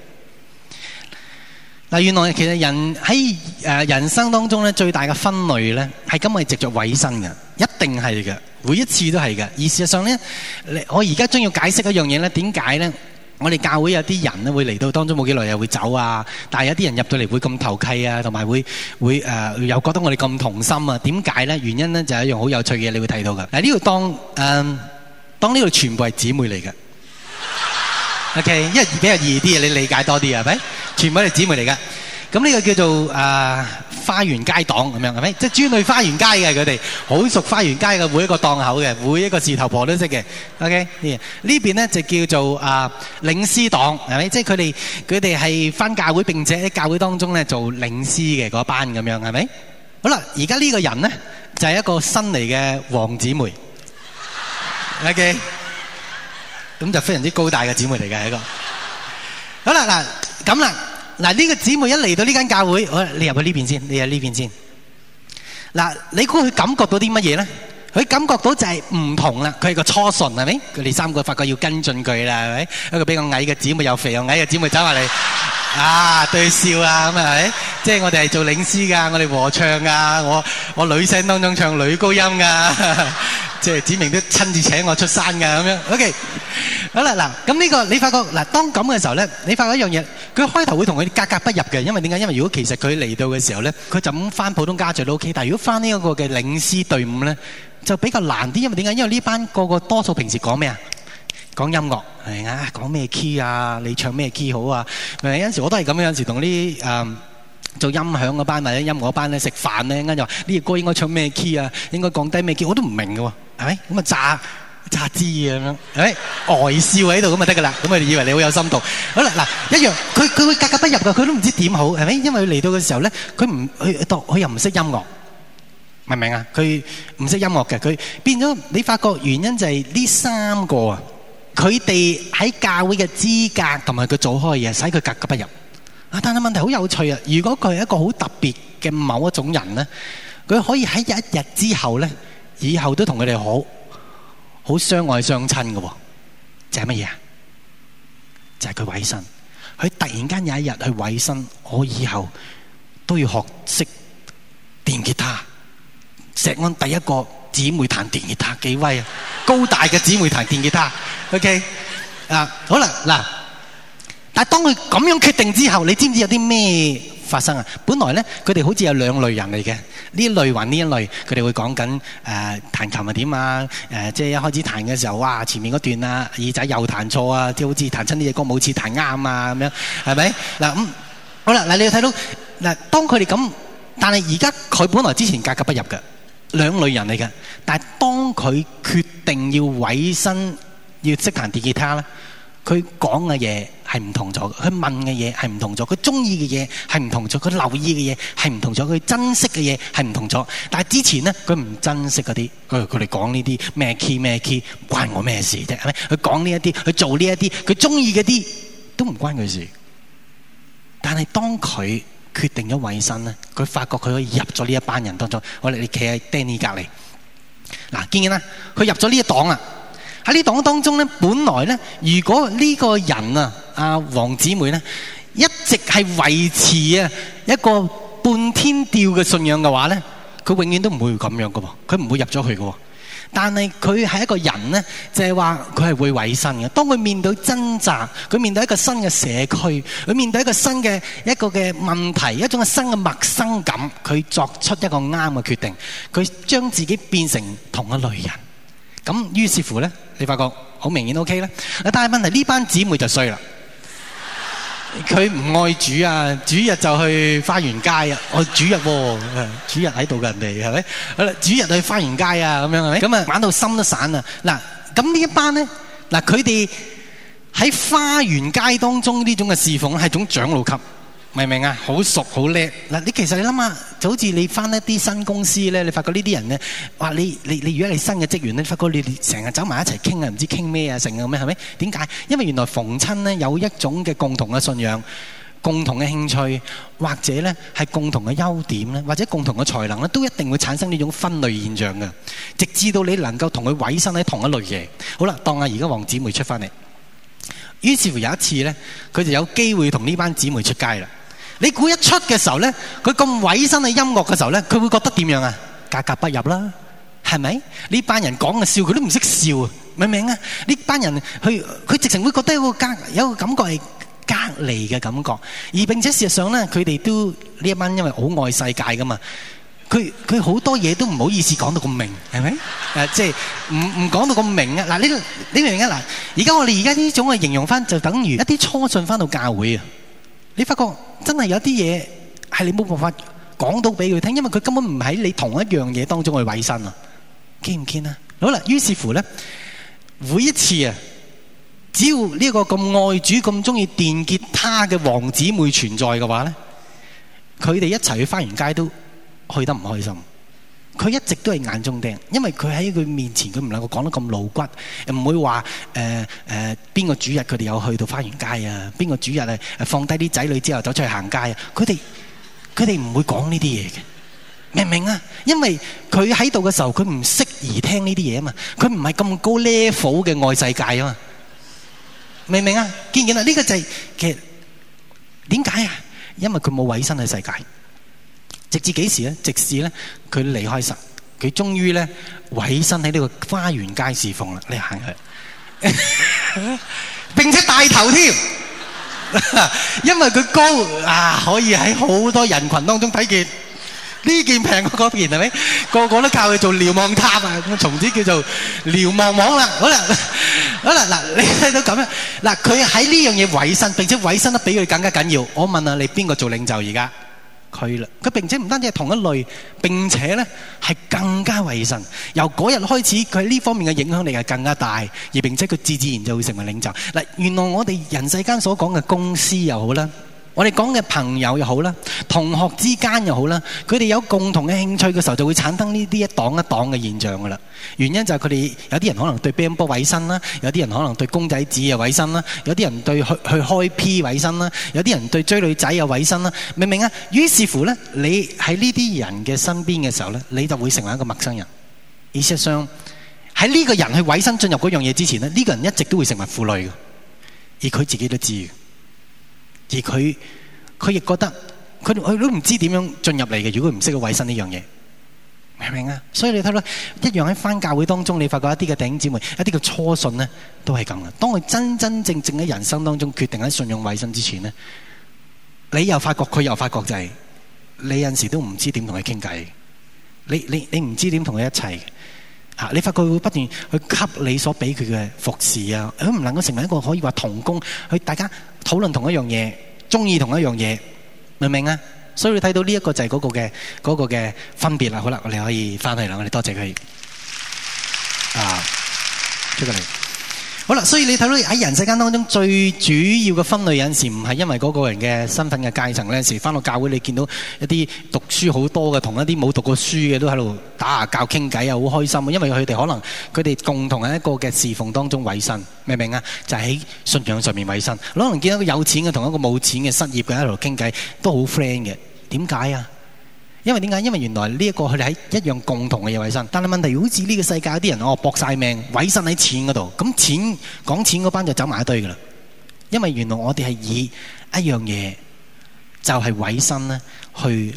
嗱，原來其實人喺誒人生當中咧，最大嘅分類咧，係今日藉著委身嘅，一定係嘅，每一次都係嘅。而事實上咧，我而家將要解釋一樣嘢咧，點解咧？我哋教會有啲人咧會嚟到當中冇幾耐又會走啊，但係有啲人入到嚟會咁投契啊，同埋會會誒、呃、又覺得我哋咁同心啊？點解咧？原因咧就係一樣好有趣嘅嘢，你會睇到嘅。嗱，呢度當誒、呃、當呢度全部係姊妹嚟嘅。OK， 因為比較易啲，你理解多啲係咪？全部係姊妹嚟㗎。咁呢個叫做誒、呃、花園街檔咁樣係咪？即係專去花園街嘅，佢哋好熟花園街嘅每一個檔口嘅，每一個事頭婆都識嘅。OK， 呢呢邊咧就叫做啊、呃、領詩檔係咪？即係佢哋佢哋係返教會並且喺教會當中咧做領詩嘅嗰班咁樣係咪？好啦，而家呢個人咧就係、是、一個新嚟嘅黃姊妹。OK。咁就非常之高大嘅姊妹嚟嘅一個。好啦，嗱咁啦，嗱呢個姊妹一嚟到呢間教會，好，你入去呢邊先，你喺呢邊先。嗱，你估佢感覺到啲乜嘢咧？佢感覺到就係唔同啦，佢係個初信係咪？佢哋三個發覺要跟進佢啦，係咪？一個比較矮嘅姊妹，又肥又矮嘅姊妹走埋嚟，啊對笑啊咁係咪？即係我哋係做領詩㗎，我哋和唱㗎，我我女聲當中唱女高音㗎。即係子明都親自請我出山㗎咁樣 ，OK， 好啦嗱，咁呢個你發覺嗱，當咁嘅時候咧，你發覺一樣嘢，佢開頭會同佢格格不入嘅，因為點解？因為如果其實佢嚟到嘅時候咧，佢就咁翻普通家聚都 OK， 但係如果翻呢一個嘅領詩隊伍咧，就比較難啲，因為點解？因為呢班個個多數平時講咩啊？講音樂係啊，講咩 key 啊？你唱咩 key 好啊？有陣時我都係咁樣，有陣時同啲誒。做音響嗰班或者音樂嗰班咧食飯咧，啱就話呢個歌應該唱咩 key 啊，應該降低咩 key，我都唔明嘅喎，係咪？咁啊炸炸枝咁樣，係咪？呆笑喺度咁就得㗎啦，咁佢哋以為你好有深度。好啦，嗱一樣，佢佢會格格不入㗎，佢都唔知點好，係咪？因為佢嚟到嘅時候咧，佢唔佢當佢又唔識音樂，明唔明啊？佢唔識音樂嘅，佢變咗你發覺原因就係呢三個啊，佢哋喺教會嘅資格同埋佢做開嘢，使佢格格不入。啊！但係問題好有趣啊！如果佢係一個好特別嘅某一種人咧，佢可以喺一日之後咧，以後都同佢哋好好相愛相親嘅喎。就係乜嘢啊？就係佢委身。佢突然間有一日去委身，我以後都要學識電吉他。石安第一個姊妹彈電吉他幾威啊！高大嘅姊妹彈電吉他。OK 啊，好啦嗱。但係當佢咁樣決定之後，你知唔知有啲咩發生啊？本來咧，佢哋好似有兩類人嚟嘅，呢一類還呢一類，佢哋會講緊誒彈琴係點啊？誒、呃、即係一開始彈嘅時候，哇！前面嗰段啊耳仔又彈錯啊，即係好似彈親呢隻歌冇似彈啱啊咁樣，係咪？嗱咁、嗯、好啦，嗱你要睇到嗱，當佢哋咁，但係而家佢本來之前格格不入嘅兩類人嚟嘅，但係當佢決定要委身要識彈電吉他咧。佢講嘅嘢係唔同咗，佢問嘅嘢係唔同咗，佢中意嘅嘢係唔同咗，佢留意嘅嘢係唔同咗，佢珍惜嘅嘢係唔同咗。但係之前咧，佢唔珍惜嗰啲，佢佢哋講呢啲咩 key 咩 key，關我咩事啫？係咪？佢講呢一啲，佢做呢一啲，佢中意嗰啲都唔關佢事。但係當佢決定咗委身咧，佢發覺佢可以入咗呢一班人當中。我哋你企喺 Danny 隔離，嗱見唔見啦？佢入咗呢一檔啊！喺呢檔當中咧，本來咧，如果呢個人啊，阿黃姊妹咧，一直係維持啊一個半天吊嘅信仰嘅話咧，佢永遠都唔會咁樣嘅喎，佢唔會入咗去嘅喎。但係佢係一個人咧，就係話佢係會委身嘅。當佢面對掙扎，佢面對一個新嘅社區，佢面對一個新嘅一個嘅問題，一種嘅新嘅陌生感，佢作出一個啱嘅決定，佢將自己變成同一類人。咁於是乎咧，你發覺好明顯 OK 咧。但係問題呢班姊妹就衰啦。 佢唔愛主啊，主日就去花園街啊，我主日喎，主日喺度嘅人哋係咪？好啦，主日去花園街啊，咁樣係咪？咁啊玩到心都散啊！嗱，咁呢一班咧，嗱佢哋喺花園街當中呢種嘅侍奉係種長老級。明唔明啊？好熟好叻嗱！你其實你諗下，就好似你翻一啲新公司咧，你發覺呢啲人咧，哇！你你你如果你新嘅職員咧，你發覺你哋成日走埋一齊傾啊，唔知傾咩啊，成啊咁樣係咪？點解？因為原來逢親咧有一種嘅共同嘅信仰、共同嘅興趣，或者咧係共同嘅優點咧，或者共同嘅才能咧，都一定會產生呢種分類現象嘅，直至到你能夠同佢委身喺同一類嘢。好啦，當下而家黃姊妹出翻嚟，於是乎有一次咧，佢就有機會同呢班姊妹出街啦。你估一出嘅時候咧，佢咁委身喺音樂嘅時候咧，佢會覺得點樣啊？格格不入啦，係咪？呢班人講嘅笑，佢都唔識笑啊！明唔明啊？呢班人佢佢直情會覺得有個隔有個感覺係隔離嘅感覺，而並且事實上咧，佢哋都呢一班因為好愛世界噶嘛，佢佢好多嘢都唔好意思講到咁明，係咪？誒，即係唔唔講到咁明啊！嗱，呢你明唔明啊？嗱，而家我哋而家呢種嘅形容翻，就等於一啲初信翻到教會啊！你發覺真係有啲嘢係你冇辦法講到俾佢聽，因為佢根本唔喺你同一樣嘢當中去委身啊！見唔見啊？好啦，於是乎咧，每一次啊，只要呢個咁愛主、咁中意電吉他嘅王姊妹存在嘅話咧，佢哋一齊去花園街都去得唔開心。佢一直都係眼中釘，因為佢喺佢面前，佢唔能夠講得咁露骨，唔會話誒誒邊個主日佢哋有去到花園街啊？邊個主日誒放低啲仔女之後走出去行街啊？佢哋佢哋唔會講呢啲嘢嘅，明唔明啊？因為佢喺度嘅時候，佢唔適宜聽呢啲嘢啊嘛，佢唔係咁高 level 嘅愛世界啊嘛，明唔明啊？見唔見啊？呢個就係其實點解啊？因為佢冇委身喺世界。直至幾時咧？直至咧佢離開神，佢終於咧委身喺呢個花園街侍奉啦。你行去，並且帶頭添，因為佢高啊，可以喺好多人群當中睇見呢件平過嗰件，係咪？個個都靠佢做瞭望塔啊！咁從此叫做瞭望網啦。好啦，好啦，嗱，你睇到咁樣嗱，佢喺呢樣嘢委身，並且委身得比佢更加緊要。我問下你，邊個做領袖而家？佢啦，佢並且唔單止係同一類，並且咧係更加為神。由嗰日開始，佢喺呢方面嘅影響力係更加大，而並且佢自自然就會成為領袖。嗱，原來我哋人世間所講嘅公司又好啦，我哋講嘅朋友又好啦，同學之間又好啦，佢哋有共同嘅興趣嘅時候，就會產生呢啲一檔一檔嘅現象噶啦。原因就係佢哋有啲人可能對乒乓波委身啦，有啲人可能對公仔紙又委身啦，有啲人對去去開 P 委身啦，有啲人對追女仔又委身啦，明唔明啊？於是乎咧，你喺呢啲人嘅身邊嘅時候咧，你就會成為一個陌生人。而事實上喺呢個人去委身進入嗰樣嘢之前咧，呢個人一直都會成為負累嘅，而佢自己都知。而佢佢亦覺得佢佢都唔知點樣進入嚟嘅。如果佢唔識去委身呢樣嘢，明唔明啊？所以你睇到一樣喺返教會當中，你發覺一啲嘅弟兄姊妹，一啲嘅初信咧，都係咁嘅。當佢真真正正喺人生當中決定喺信仰委身之前咧，你又發覺佢又發覺就係、是、你有陣時都唔知點同佢傾偈，你你你唔知點同佢一齊嚇。你發覺佢會不斷去給你所俾佢嘅服侍啊，佢唔能夠成為一個可以話同工，去大家討論同一樣嘢，中意同一樣嘢，明唔明啊？所以你睇到呢一個就係嗰個嘅嗰個嘅分別啦。好啦，我哋可以翻去啦。我哋多謝佢啊，出過嚟。好啦，所以你睇到喺人世間當中最主要嘅分類，有陣時唔係因為嗰個人嘅身份嘅階層。有陣時翻到教會，你見到一啲讀書好多嘅，同一啲冇讀過書嘅都喺度打下教傾偈啊，好開心。因為佢哋可能佢哋共同喺一個嘅侍奉當中委身，明唔明啊？就係喺信仰上面委身。可能見到一個有錢嘅同一個冇錢嘅失業嘅喺度傾偈，都好 friend 嘅。點解啊？因為點解？因為原來呢一個佢哋喺一樣共同嘅嘢委身，但係問題好似呢個世界有啲人哦搏晒命委身喺錢嗰度，咁錢講錢嗰班就走埋一堆噶啦。因為原來我哋係以一樣嘢就係委身咧，去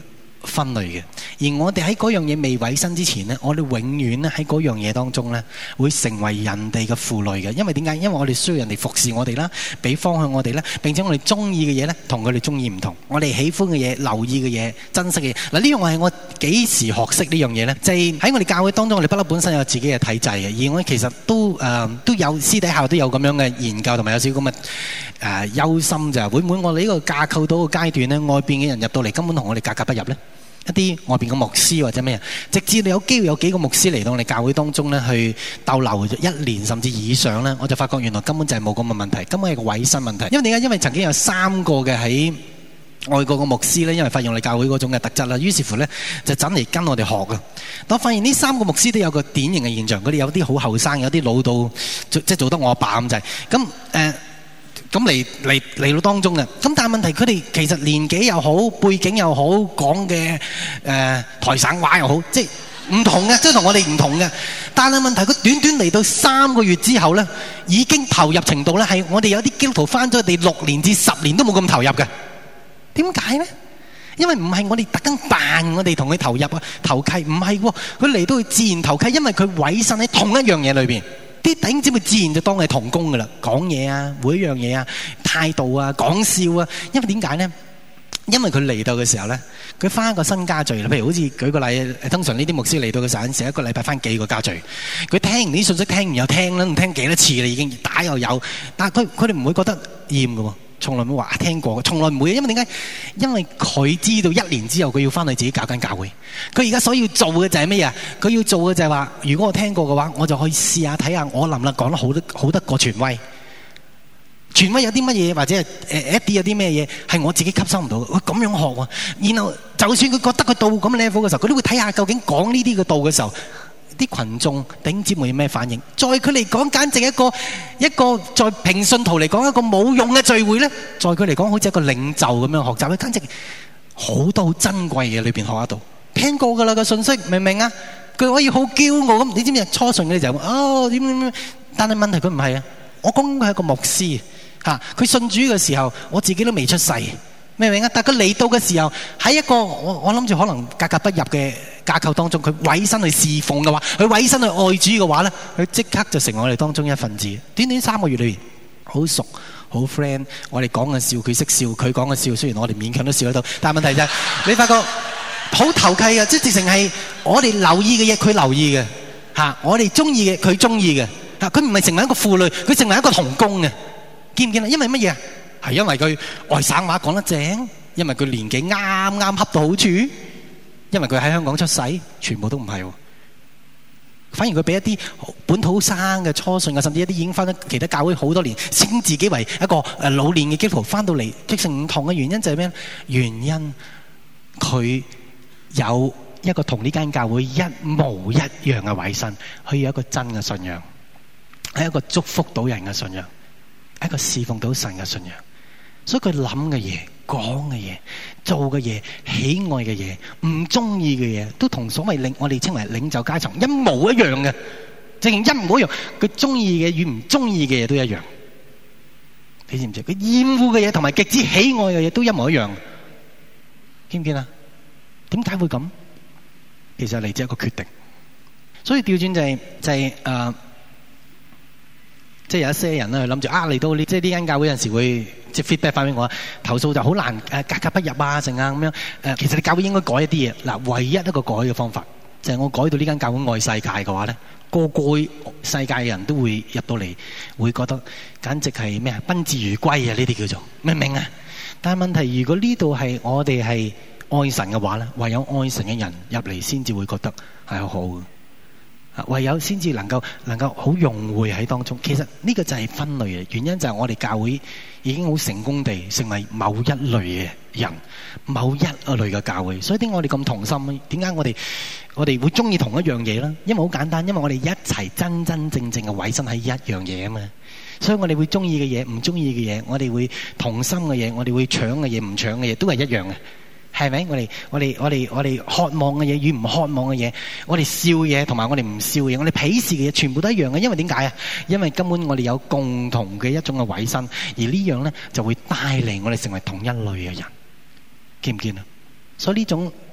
分類嘅。而我哋喺嗰樣嘢未委身之前呢，我哋永遠咧喺嗰樣嘢當中呢，會成為人哋嘅負累嘅。因為點解？因為我哋需要人哋服侍我哋啦，俾方向我哋啦，並且我哋中意嘅嘢呢，同佢哋中意唔同。我哋喜歡嘅嘢、留意嘅嘢、珍惜嘅嘢。嗱，呢樣係我幾時學識呢樣嘢呢？就係喺我哋教會當中，我哋不嬲本身有自己嘅體制嘅，而我其實都誒、呃、都有私底下都有咁樣嘅研究，同埋有少少咁嘅誒憂心就係會唔會我哋呢個架構到個階段呢，外邊嘅人入到嚟根本同我哋格格不入呢？一啲外邊嘅牧師或者咩啊，直至你有機會有幾個牧師嚟到我哋教會當中咧，去逗留一年甚至以上咧，我就發覺原來根本就係冇咁嘅問題，根本係個委身問題。因為點解？因為曾經有三個嘅喺外國嘅牧師咧，因為發現我哋教會嗰種嘅特質啦，於是乎咧就走嚟跟我哋學嘅。但我發現呢三個牧師都有個典型嘅現象，佢哋有啲好後生，有啲老到即係做得我阿爸咁滯。咁誒。咁嚟嚟嚟到當中嘅，咁但係問題佢哋其實年紀又好，背景又好，講嘅誒台省話又好，即係唔同嘅，即係同我哋唔同嘅。但係問題佢短短嚟到三個月之後咧，已經投入程度咧係我哋有啲基督徒翻咗佢哋六年至十年都冇咁投入嘅。點解咧？因為唔係我哋特登扮我哋同佢投入啊投契，唔係喎，佢嚟到佢自然投契，因為佢委身喺同一樣嘢裏邊。啲弟兄姊妹自然就當係同工噶啦，講嘢啊，每一樣嘢啊，態度啊，講笑啊。因為點解呢？因為佢嚟到嘅時候呢，佢翻一個新家聚啦。譬如好似舉個例，通常呢啲牧師嚟到嘅時候，成一個禮拜翻幾個家聚。佢聽完啲信息，聽完又聽啦，唔聽幾多次啦，已經打又有。但係佢佢哋唔會覺得厭嘅喎，從來冇話聽過，從來唔會。因為點解？因為佢知道一年之後佢要翻去自己搞間教會。佢而家所要做嘅就係咩啊？佢要做嘅就係話，如果我聽過嘅話，我就可以試下睇下我能唔能講得好得好得過權威。權威有啲乜嘢，或者係誒一啲有啲咩嘢係我自己吸收唔到嘅，我咁樣學喎。然後就算佢覺得佢到咁嘅 level 嘅時候，佢都會睇下究竟講呢啲嘅道嘅時候，啲群眾弟兄姊妹有咩反應。在佢嚟講，簡直一個一個在平信徒嚟講一個冇用嘅聚會咧，在佢嚟講好似一個領袖咁樣學習咧，簡直好多好珍貴嘅裏邊學得到。聽過㗎啦個信息，明唔明啊？佢可以好驕傲咁，你知唔知初信嘅就係哦點點點，但係問題佢唔係啊。我講佢係個牧師嚇，佢信主嘅時候，我自己都未出世，明唔明啊？但係佢嚟到嘅時候，喺一個我我諗住可能格格不入嘅架構當中，佢委身去侍奉嘅話，佢委身去愛主嘅話咧，佢即刻就成為我哋當中一份子。短短三個月裏邊，好熟好 friend， 我哋講嘅笑佢識笑，佢講嘅笑雖然我哋勉強都笑得到，但係問題就係你發覺好投契嘅，即係直情係我哋留意嘅嘢，佢留意嘅嚇，我哋中意嘅佢中意嘅嚇，佢唔係成為一個負累，佢成為一個同工嘅。見唔見啊？因為乜嘢？係因為佢外省話講得正，因為佢年紀啱啱恰到好處，因為佢喺香港出世，全部都唔係。反而佢俾一啲本土生嘅初信嘅，甚至一啲已經翻咗其他教會好多年，稱自己為一個誒老年嘅基督徒翻到嚟，即成唔同嘅原因就係咩？原因佢有一個同呢間教會一模一樣嘅委身，佢有一個真嘅信仰，係一個祝福到人嘅信仰。一個侍奉到神嘅信仰，所以佢諗嘅嘢、講嘅嘢、做嘅嘢、喜愛嘅嘢、唔中意嘅嘢，都同所謂領我哋稱為領袖階層一模一樣嘅，正一模一樣。佢中意嘅與唔中意嘅嘢都一樣，你知唔知？佢厭惡嘅嘢同埋極之喜愛嘅嘢都一模一樣，見唔見啊？點解會咁？其實嚟自一個決定。所以調轉就係、是、就係、是、誒。呃即係有一些人咧，諗住啊嚟到呢，即係呢間教會有陣時會即係 feedback 翻俾我，投訴就好難誒格格不入啊，成啊咁樣誒。其實你教會應該改一啲嘢。嗱，唯一一個改嘅方法就係、是、我改到呢間教會愛世界嘅話咧，個個世界嘅人都會入到嚟，會覺得簡直係咩啊，賓至如歸啊！呢啲叫做明唔明啊？但係問題，如果呢度係我哋係愛神嘅話咧，唯有愛神嘅人入嚟先至會覺得係好好嘅。唯有先至能夠能夠好融匯喺當中。其實呢個就係分類嘅原因，就係我哋教會已經好成功地成為某一類嘅人，某一類嘅教會。所以點解我哋咁同心？點解我哋我哋會中意同一樣嘢呢？因為好簡單，因為我哋一齊真真正正嘅委身喺一樣嘢啊嘛。所以我哋會中意嘅嘢，唔中意嘅嘢，我哋會同心嘅嘢，我哋會搶嘅嘢，唔搶嘅嘢，都係一樣嘅。係咪？我哋我哋我哋我哋渴望嘅嘢與唔渴望嘅嘢，我哋笑嘢同埋我哋唔笑嘢，我哋鄙視嘅嘢，全部都一樣嘅。因為點解啊？因為根本我哋有共同嘅一種嘅委身，而呢樣咧就會帶嚟我哋成為同一類嘅人。見唔見啊？所以呢種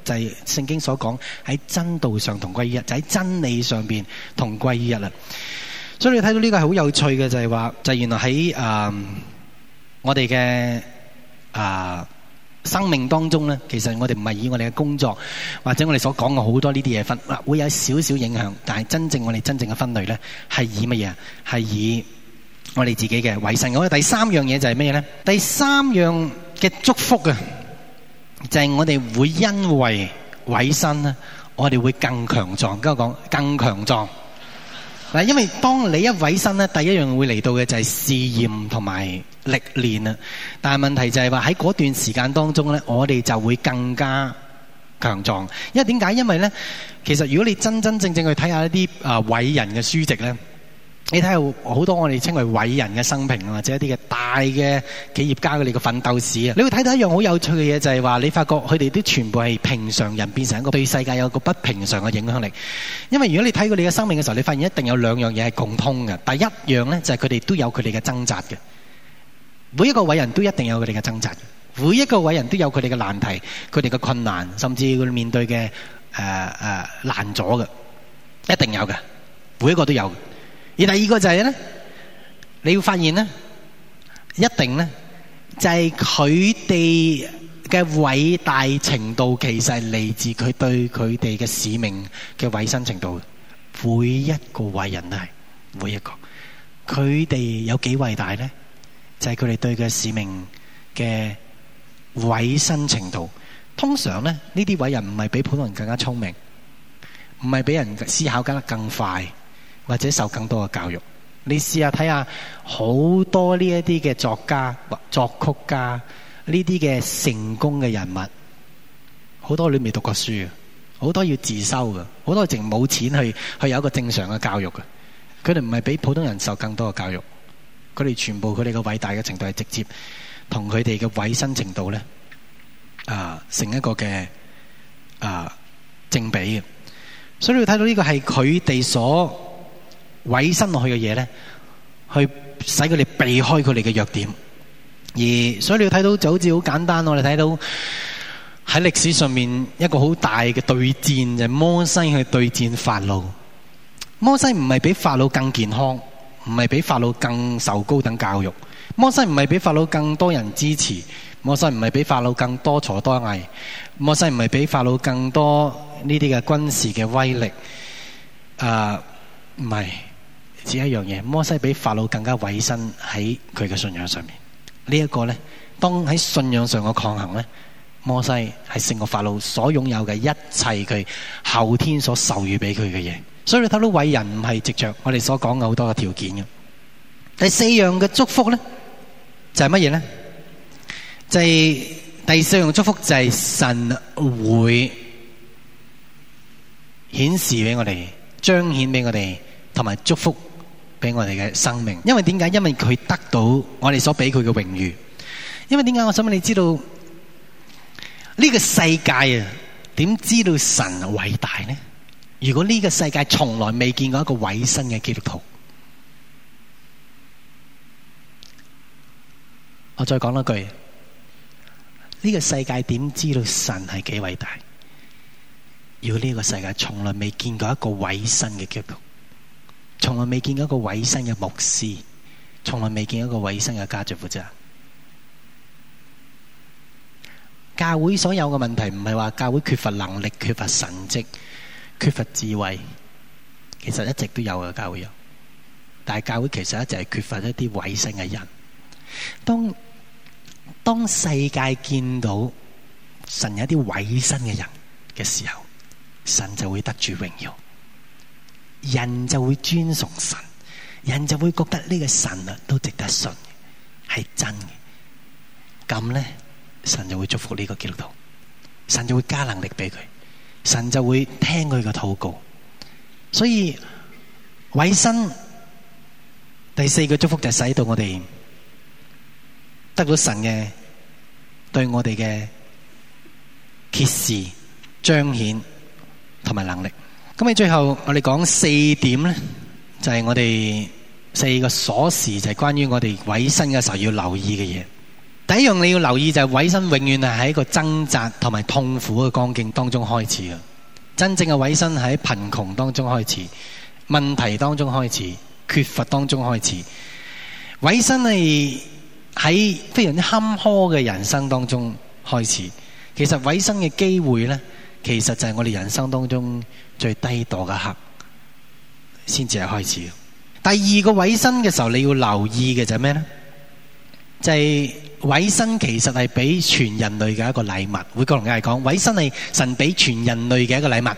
就係聖經所講喺真道上同歸於一，就喺真理上邊同歸於一啦。所以你睇到呢個係好有趣嘅，就係話就係原來喺誒我哋嘅啊生命當中咧，其實我哋唔係以我哋嘅工作或者我哋所講嘅好多呢啲嘢分，會有少少影響，但係真正我哋真正嘅分類咧係以乜嘢？係以我哋自己嘅委身。我哋第三樣嘢就係咩咧？第三樣嘅祝福啊，就係我哋會因為委身咧，我哋會更強壯。跟我講更強壯。嗱，因為當你一委身咧，第一樣會嚟到嘅就係試驗同埋歷練啊。但係問題就係話喺嗰段時間當中咧，我哋就會更加強壯。因為點解？因為咧，其實如果你真真正正去睇下一啲啊偉人嘅書籍咧，你睇下好多我哋稱為偉人嘅生平，或者一啲嘅大嘅企業家佢哋嘅奮鬥史啊，你會睇到一樣好有趣嘅嘢，就係話你發覺佢哋都全部係平常人變成一個對世界有一個不平常嘅影響力。因為如果你睇佢哋嘅生命嘅時候，你發現一定有兩樣嘢係共通嘅。第一樣咧就係佢哋都有佢哋嘅掙扎嘅，每一個偉人都一定有佢哋嘅掙扎，每一個偉人都有佢哋嘅難題、佢哋嘅困難，甚至佢哋面對嘅誒誒難阻嘅，一定有嘅，每一個都有。而第二個就係咧，你要發現咧，一定咧就係佢哋嘅偉大程度，其實係嚟自佢對佢哋嘅使命嘅委身程度。每一個偉人都係，每一個佢哋有幾偉大咧？就係佢哋對嘅使命嘅委身程度。通常咧，呢啲偉人唔係比普通人更加聰明，唔係比人思考得更快，或者受更多嘅教育。你試下睇下好多呢一啲嘅作家、作曲家，呢啲嘅成功嘅人物，好多你未讀過書嘅，好多要自修嘅，好多淨冇錢去去有一個正常嘅教育嘅。佢哋唔係比普通人受更多嘅教育，佢哋全部佢哋嘅偉大嘅程度係直接同佢哋嘅委身程度咧啊成一個嘅啊正比嘅。所以你睇到呢個係佢哋所委身落去嘅嘢咧，去使佢哋避開佢哋嘅弱點。而所以你要睇到就好似好簡單，我哋睇到喺歷史上面一個好大嘅對戰，就係摩西去對戰法老。摩西唔係比法老更健康，唔係比法老更受高等教育，摩西唔係比法老更多人支持，摩西唔係比法老更多才多藝，摩西唔係比法老更多呢啲嘅軍事嘅威力。啊，唔係。只一樣嘢，摩西比法老更加委身喺佢嘅信仰上面。這個、呢一個咧，當喺信仰上嘅抗衡咧，摩西係勝過法老所擁有嘅一切佢後天所授予俾佢嘅嘢。所以你睇到偉人唔係藉着我哋所講嘅好多嘅條件嘅。第四樣嘅祝福咧，就係乜嘢咧？就係、是、第四樣祝福就係神會顯示俾我哋，彰顯俾我哋，同埋祝福俾我哋嘅生命。因為點解？因為佢得到我哋所俾佢嘅榮譽。因為點解？我想問你知道呢、這個世界啊，點知道神偉大呢？如果呢個世界從來未見過一個委身嘅基督徒，我再講多句：呢、這個世界點知道神係幾偉大？如果呢個世界從來未見過一個委身嘅基督徒，從來未見過一個委身嘅牧師，從來未見過一個委身嘅家族負責人。教會所有嘅問題唔係話教會缺乏能力、缺乏神蹟、缺乏智慧，其實一直都有嘅，教會有。但係教會其實一直係缺乏一啲委身嘅人。當當世界見到神有一啲委身嘅人嘅時候，神就會得住榮耀。人就會尊崇神，人就會覺得呢個神啊都值得信，係真嘅。咁咧，神就會祝福呢個基督徒，神就會加能力俾佢，神就會聽佢嘅禱告。所以委身第四個祝福就係使到我哋得到神嘅對我哋嘅揭示、彰顯同埋能力。咁喺最後我哋講四點咧，就係我哋四個鎖匙，就係關於我哋委身嘅時候要留意嘅嘢。 第一樣你要留意就係委身永遠係喺一個掙扎同埋痛苦嘅光景當中開始嘅。真正嘅委身喺貧窮當中開始，問題當中開始，缺乏當中開始。委身係喺非常之坎坷嘅人生當中開始。其實委身嘅機會呢，其實就係我哋人生當中最低墮嘅刻先至係開始。第二個委身嘅時候，你要留意嘅就係咩呢？就係委身其實係俾全人類嘅一個禮物。每個人嚟講，委身係神俾全人類嘅一個禮物。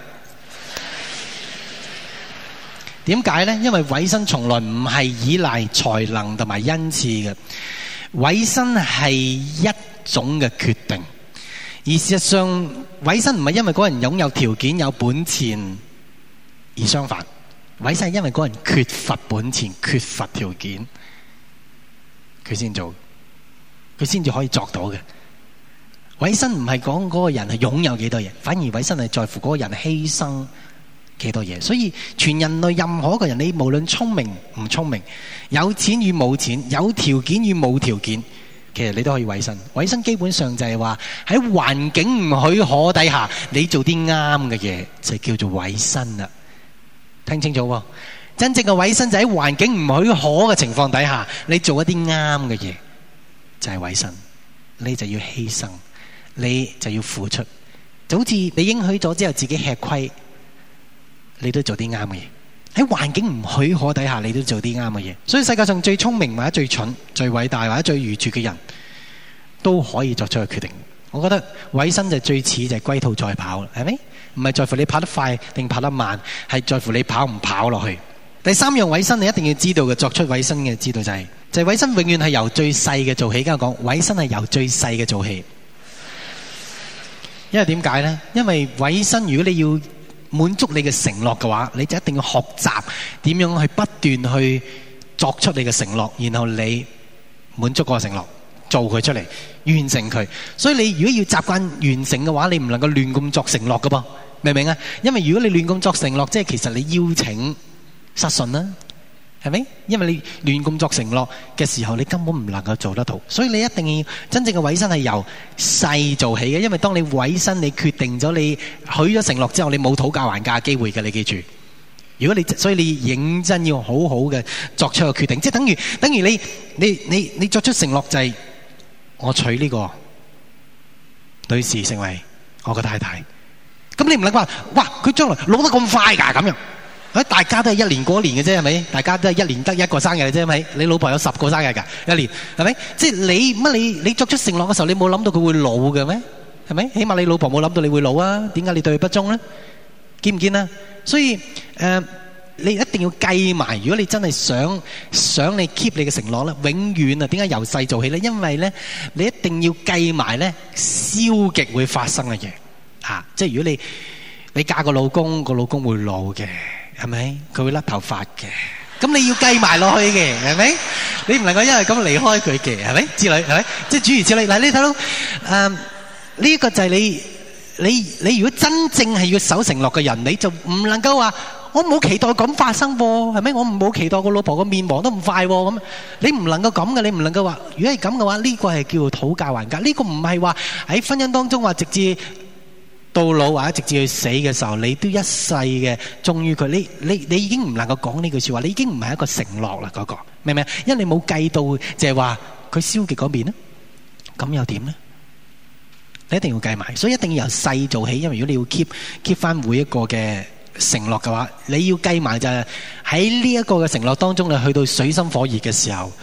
點解呢？因為委身從來唔係依賴才能同埋恩賜嘅，委身係一種嘅決定。而事實上，委身唔係因為嗰個人擁有條件有本錢而相反，委身係因為嗰個人缺乏本錢、缺乏條件，佢先做，佢先至可以作到嘅。委身唔係講嗰個人係擁有幾多嘢，反而委身係在乎嗰個人犧牲幾多嘢。所以全人類任何一個人，你無論聰明唔聰明，有錢與冇錢，有條件與冇條件，其實你都可以委身。委身基本上就係話喺環境唔許可底下，你做啲啱嘅嘢，就叫做委身啦。聽清楚喎，真正嘅委身就喺環境唔許可嘅情況底下，你做一啲啱嘅嘢，就係委身。你就要犧牲，你就要付出，就好似你應許咗之後自己吃虧，你都做啲啱嘅嘢。喺環境唔許可底下，你都做啲啱嘅嘢。所以世界上最聰明或者最蠢、最偉大或者最愚拙嘅人，都可以作出個決定。我覺得委身就最似就係龜兔賽跑，係咪？唔係在乎你跑得快定跑得慢，係在乎你跑唔跑落去。第三樣委身你一定要知道嘅，作出委身嘅知道就係，就係委身永遠係由最細嘅做起。而家講委身係由最細嘅做起，因為點解呢？因為委身如果你要滿足你嘅承諾嘅話，你就一定要學習點樣去不斷去作出你嘅承諾，然後你滿足嗰個承諾，做佢出嚟，完成佢。所以你如果要習慣完成嘅話，你唔能夠亂咁作承諾噶噃，明唔明啊？因為如果你亂咁作承諾，即係其實你邀請失信啦，係咪？因為你亂咁作承諾嘅時候，你根本唔能夠做得到。所以你一定要真正嘅委身係由細做起嘅，因為當你委身，你決定咗你許咗承諾之後，你冇討價還價嘅機會嘅，你記住。如果你所以你認真要好好嘅作出個決定，即係等於等於你你你你作出承諾就係我娶呢個女士成為我嘅太太。咁你唔能夠話哇佢將來老得咁快㗎咁樣。大家都係一年過一年嘅啫，係咪？大家都係一年得一個生日嘅啫，係咪？你老婆有十個生日㗎，一年係咪？即係你乜你你作出承諾嘅時候，你冇諗到佢會老嘅咩？係咪？起碼你老婆冇諗到你會老啊？點解你對佢不忠咧？見唔見啊？所以誒、呃，你一定要計埋。如果你真係想想你 keep 你嘅承諾咧，永遠啊，點解由細做起咧？因為咧，你一定要計埋咧消極會發生嘅嘢嚇。即係如果你你嫁個老公，個老公會老嘅。係咪？佢會甩頭髮嘅，咁你要計埋落去嘅，係咪？你唔能夠因為咁離開佢嘅，係咪？之類係咪？即係諸如此類。嗱，你睇到誒呢一個就係你你你如果真正係要守承諾嘅人，你就唔能夠話我冇期待咁發生喎，係咪？我唔冇期待個老婆個面黃得咁快喎，咁你唔能夠咁嘅，你唔能夠話。如果係咁嘅話，呢個係叫做討價還價。呢個唔係話喺婚姻當中話直至到老或者直至去死嘅時候，你都一世嘅忠於佢。你你你已經唔能夠講呢句說話，你已經唔係一個承諾啦，嗰個明唔明？因為你冇計到就係話佢消極嗰邊咧，咁又點咧？你一定要計埋，所以一定要由細做起。因為如果你要 keep keep 翻每一個嘅承諾嘅話，你要計埋就係喺呢一個嘅承諾當中，你去到水深火熱嘅時候，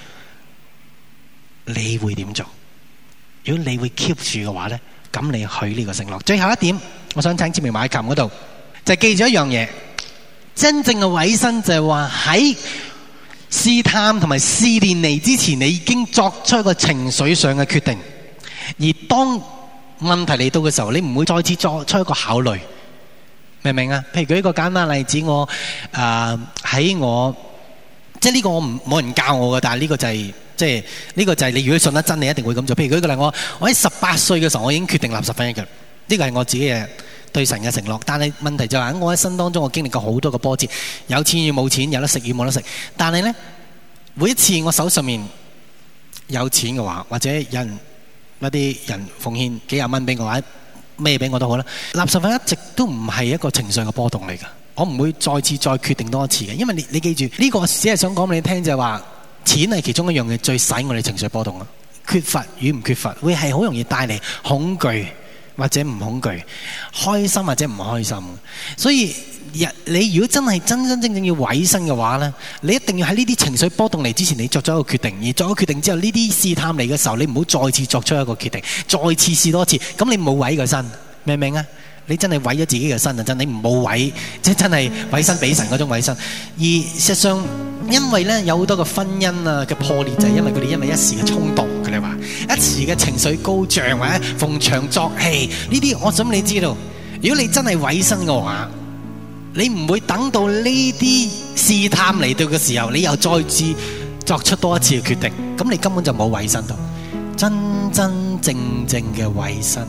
你會點做？如果你會 keep 住嘅話咧，咁你許呢個承諾。最後一點，我想請志明埋喺琴嗰度，就係記住一樣嘢，真正嘅委身就係話喺試探同埋試煉嚟之前，你已經作出一個情緒上嘅決定，而當問題嚟到嘅時候，你唔會再次作出一個考慮，明唔明啊？譬如舉一個簡單例子，我誒喺、呃、我即係呢個我唔冇人教我嘅，但係呢個就係、是。即係呢個就係你如果信得真，你一定會咁做。譬如舉個例，我我喺十八歲嘅時候，我已經決定立十分一嘅。呢個係我自己嘅對神嘅承諾。但係問題就係喺我一生當中，我經歷過好多個波折，有錢與冇錢，有得食與冇得食。但係咧，每一次我手上面有錢嘅話，或者有人一啲人奉獻幾廿蚊俾我，或者咩俾我都好啦。納十分一直都唔係一個情緒嘅波動嚟㗎，我唔會再次再決定多一次嘅，因為你你記住呢個只係想講俾你聽就係話，錢係其中一樣嘢最使我哋情緒波動啊。缺乏與唔缺乏會係好容易帶嚟恐懼或者唔恐懼，開心或者唔開心。所以你如果真係真真正正要委身嘅話呢，你一定要喺呢啲情緒波動嚟之前，你作咗一個決定。而作咗決定之後，呢啲試探嚟嘅時候，你唔好再次作出一個決定，再次試多次。咁你冇委個身，明唔明啊？你真係委咗自己嘅身啊！真，你唔冇委，即係真係委身俾神嗰種委身。而事實上，因為咧有好多個婚姻啊嘅破裂，就係因為佢哋因為一時嘅衝動，佢哋話一時嘅情緒高漲或者逢場作戲呢啲。我想你知道，如果你真係委身嘅話，你唔會等到呢啲試探嚟到嘅時候，你又再次作出多一次嘅決定，咁你根本就冇委身到。真真正正嘅委身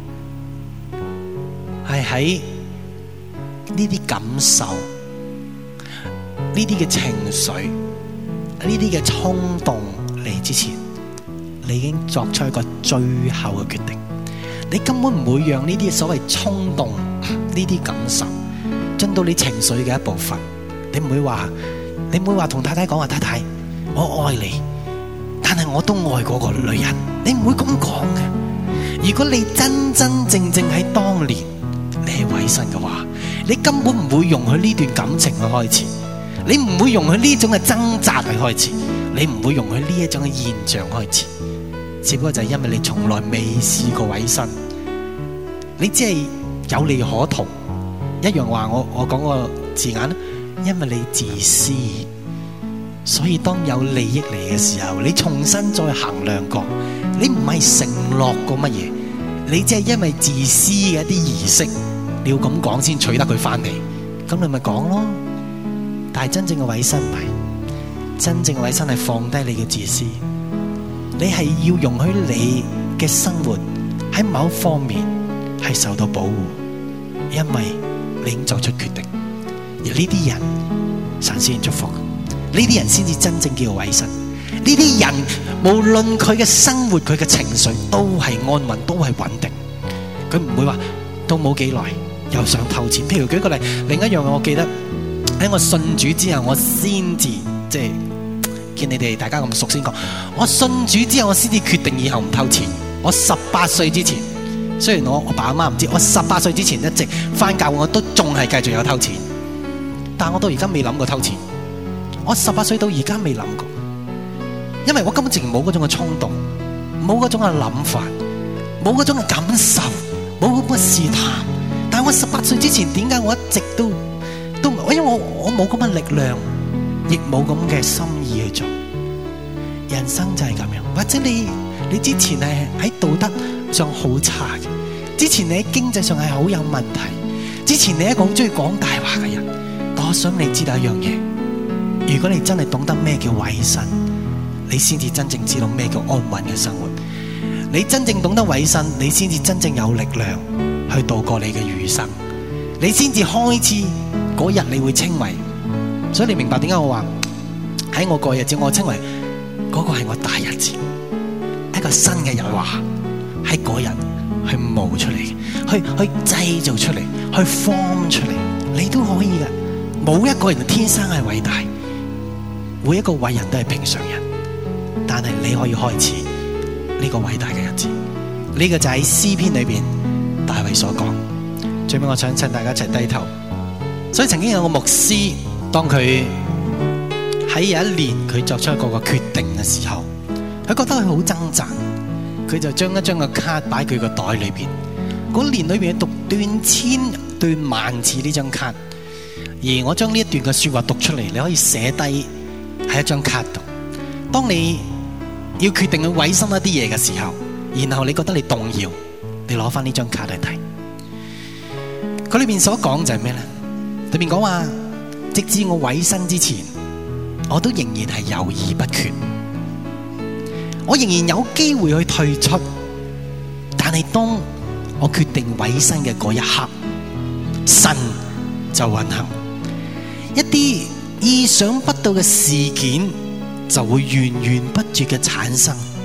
係喺呢啲感受、呢啲嘅情緒、呢啲嘅衝動嚟之前，你已經作出一個最後嘅決定。你根本唔會讓呢啲所謂衝動、呢啲感受進到你情緒嘅一部分。你唔會話，你唔會話同太太講話，太太，我愛你，但係我都愛嗰個女人。你唔會咁講嘅。如果你真真正正喺當年你係委身嘅話，你根本唔會容許呢段感情去開始，你唔會容許呢種嘅掙扎去開始，你唔會容許呢一種嘅現象開始。只不過就係因為你從來未試過委身，你只係有利可圖。一樣話我我講個字眼，因為你自私，所以當有利益嚟嘅時候，你重新再衡量過，你唔係承諾過乜嘢，你只係因為自私嘅一啲儀式，你要咁講先取得佢翻嚟，咁你咪講咯。但係真正嘅委身唔係，真正嘅委身係放低你嘅自私，你係要容許你嘅生活喺某一方面係受到保護，因為你已經作出決定。而呢啲人神先祝福，呢啲人先至真正叫做委身。呢啲人無論佢嘅生活、佢嘅情緒都係安穩，都係穩定。佢唔會話都冇幾耐又想偷錢。譬如舉個例，另一樣我記得喺我信主之後，我先至即係見你哋大家咁熟先講。我信主之後，我先至決定以後唔偷錢。我十八歲之前，雖然我我爸阿媽唔知，我十八歲之前一直返教會，我都仲係繼續有偷錢。但我到而家未諗過偷錢。我十八歲到而家未諗過，因為我根本直情冇嗰種嘅衝動，冇嗰種嘅諗法，冇嗰種嘅感受，冇咁嘅試探。但係我十八歲之前，點解我一直都都因為我我冇咁嘅力量，亦冇咁嘅心意去做。人生就係咁樣，或者你你之前係喺道德上好差嘅，之前你喺經濟上係好有問題，之前你係一個好中意講大話嘅人。但我想你知道一樣嘢，如果你真係懂得咩叫委身，你先至真正知道咩叫安穩嘅生活。你真正懂得委身，你先至真正有力量去度過你嘅餘生。你先至開始嗰日你會稱為，所以你明白點解我話喺我過日子，我稱為嗰個係我大日子，一個新嘅日華喺嗰日去冒出嚟，去去製造出嚟，去 form 出嚟，你都可以嘅。冇一個人天生係偉大，每一個偉人都係平常人，但係你可以開始呢個偉大嘅日子。呢個就喺詩篇裏邊大衛所講。最尾我想請大家一齊低頭。所以曾經有個牧師，當佢喺有一年佢作出一個個決定嘅時候，佢覺得佢好掙扎，佢就將一張個卡擺佢個袋裏邊。嗰年裏邊讀斷千斷萬次呢張卡。而我將呢一段嘅說話讀出嚟，你可以寫低喺一張卡度。當你要決定去委身一啲嘢嘅時候，然後你覺得你動搖，你攞翻呢張卡嚟睇。佢裏面所講就係咩咧？裏面講話，直至我委身之前，我都仍然係猶豫不決，我仍然有機會去退出。但係當我決定委身嘅嗰一刻，神就運行。一啲意想不到嘅事件就會源源不絕嘅產生，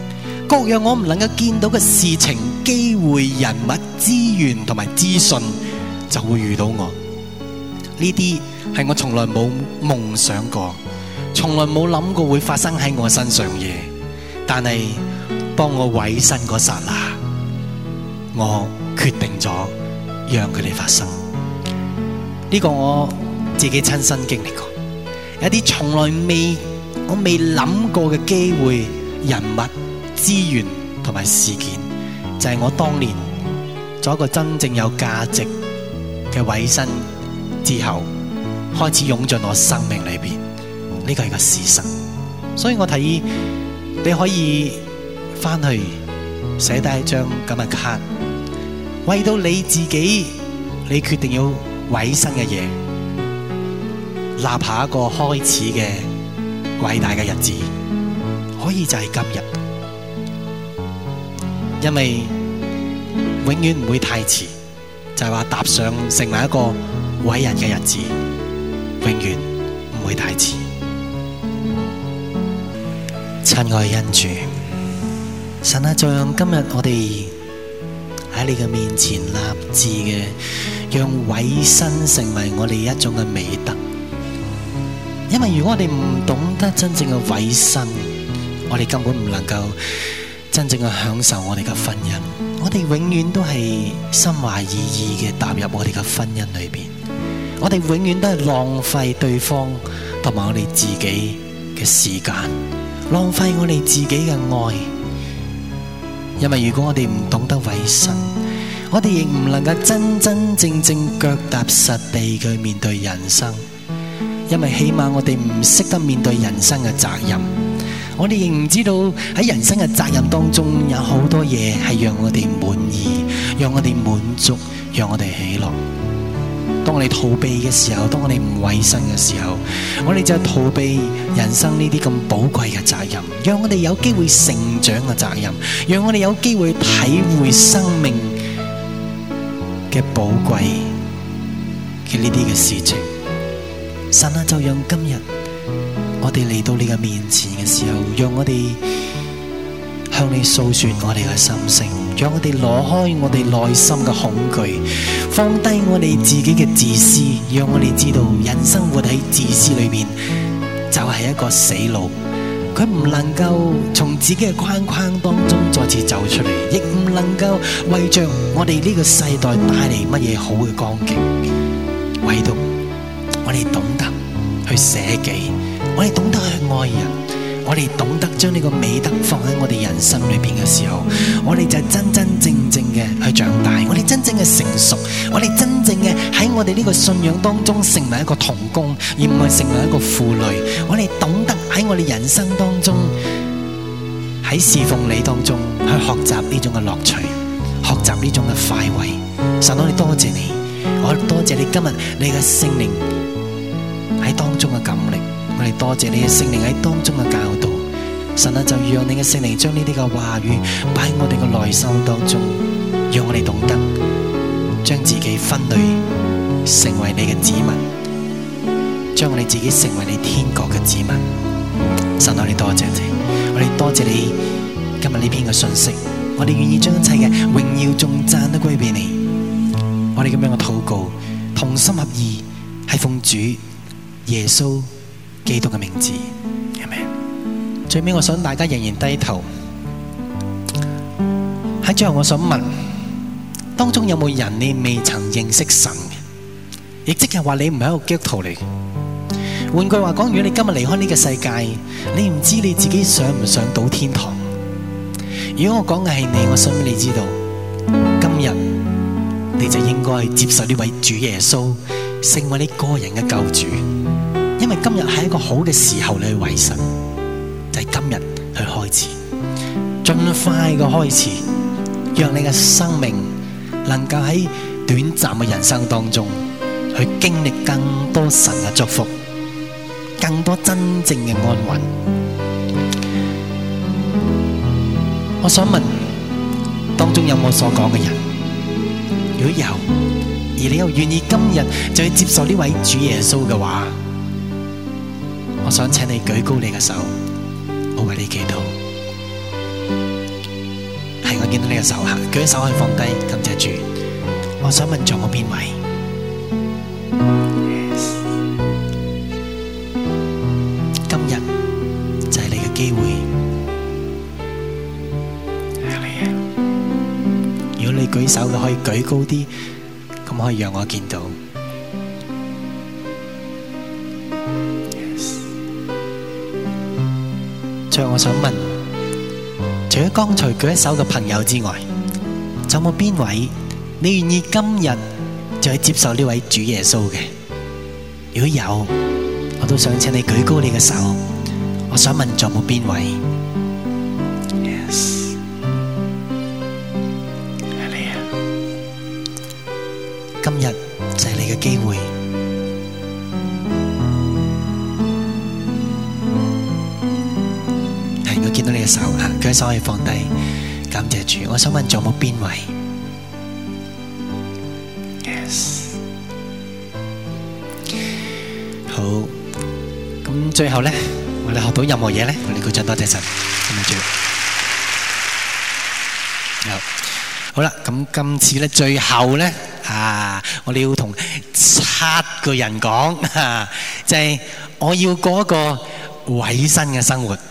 各樣我唔能夠見到嘅事情、機會、人物、資源同埋資訊就會遇到我。呢啲係我從來冇夢想過，從來冇諗過會發生喺我身上嘅嘢。但係當我委身嗰剎那，我決定咗讓佢哋發生。呢個我自己親身經歷過，有啲從來未我未諗過嘅機會、人物、資源同埋事件，就係我當年做一個真正有價值嘅委身之後，開始湧進我生命裏邊。呢個係個事實，所以我提議你可以翻去寫低一張咁嘅卡，為到你自己，你決定要委身嘅嘢，立下一個開始嘅偉大嘅日子，可以就係今日，因為永遠唔會太遲，就係話踏上成為一個偉人嘅日子，永遠唔會太遲。親愛恩主，神啊，就讓今日我哋喺你嘅面前立志嘅，讓委身成為我哋一種嘅美德。因為如果我哋唔懂得真正嘅委身，我哋根本唔能夠真正嘅享受我哋嘅婚姻。我哋永遠都係心懷意意嘅踏入我哋嘅婚姻裏邊，我哋永遠都係浪費對方同埋我哋自己嘅時間，浪費我哋自己嘅愛。因為如果我哋唔懂得委身，我哋亦唔能夠真真正正腳踏實地去面對人生。因為起碼我哋唔識得面對人生嘅責任，我哋亦唔知道喺人生嘅責任當中有好多嘢係讓我哋滿意，讓我哋滿足，讓我哋喜樂。當我哋逃避嘅時候，當我哋唔委身嘅時候，我哋就逃避人生呢啲咁寶貴嘅責任，讓我哋有機會成長嘅責任，讓我哋有機會體會生命嘅寶貴嘅呢啲嘅事情。神啊，就讓今日我哋嚟到你嘅面前嘅時候，讓我哋向你訴說我哋嘅心聲，讓我哋攞開我哋內心嘅恐懼，放低我哋自己嘅自私，讓我哋知道人生活喺自私裏面就係一個死路，佢唔能夠從自己嘅框框當中再次走出嚟，亦唔能夠為着我哋呢個世代帶嚟乜嘢好嘅光景。唯獨我哋懂得去捨己，我哋懂得去愛人，我哋懂得將呢個美德放喺我哋人生裏邊嘅時候，我哋就真真正正嘅去長大，我哋真正嘅成熟，我哋真正嘅喺我哋呢個信仰當中成為一個同工，而唔係成為一個負累。我哋懂得喺我哋人生當中，喺侍奉你當中去學習呢種嘅樂趣，學習呢種嘅快慰。神，我哋多謝你，我哋多謝你今日你嘅聖靈喺當中嘅感力，我哋多謝你嘅聖靈喺當中嘅教導。神啊，就讓你嘅聖靈將呢啲嘅話語擺喺我哋嘅內心當中，讓我哋懂得將自己分類成為你嘅子民，將我哋自己成為你天國嘅子民。神啊，我哋多謝你，我哋多謝你今日呢篇嘅信息，我哋願意將一切嘅榮耀頌讚都歸俾你。我哋咁樣嘅禱告，同心合意，係奉主耶穌基督嘅名字，阿們。最尾我想大家仍然低頭。喺最後我想問，當中有冇人你未曾認識神嘅？亦即係話你唔係一個基督徒嚟。換句話講，如果你今日離開呢個世界，你唔知你自己上唔上到天堂。如果我講嘅係你，我想俾你知道，今日你就應該接受呢位主耶穌成為你個人嘅救主。因為今日係一個好嘅時候，你去委身，就係今日去開始，盡快嘅開始，讓你嘅生命能夠喺短暫嘅人生當中去經歷更多神嘅祝福，更多真正嘅安穩。我想問，當中有冇所講嘅人？如果有，而你又願意今日就去接受呢位主耶穌嘅話，我想請你舉高你嘅手，我為你祈禱。 係我見到你嘅手下，舉手可以放低，感謝主。我想問仲有冇邊位？ Yes. 今日就係你嘅機會。如果你舉手嘅可以舉高啲，咁可以讓我見到。Yes. 最後我想問，除咗剛才舉手嘅朋友之外，仲有冇邊位你願意今日就去接受呢位主耶穌嘅？如果有，我都想請你舉高你嘅手。我想問仲有冇邊位 ？Yes， 係你啊！今日就係你嘅機會。係，我見到你嘅手啊，舉手可以放低，感謝主。我想問仲有冇邊位？好，咁最後咧，我哋學到任何嘢咧，我哋鼓掌多謝神，感謝主。好，好啦，咁今次咧，最後咧，啊，我哋要同七個人講，啊，就係我要過一個委身嘅生活。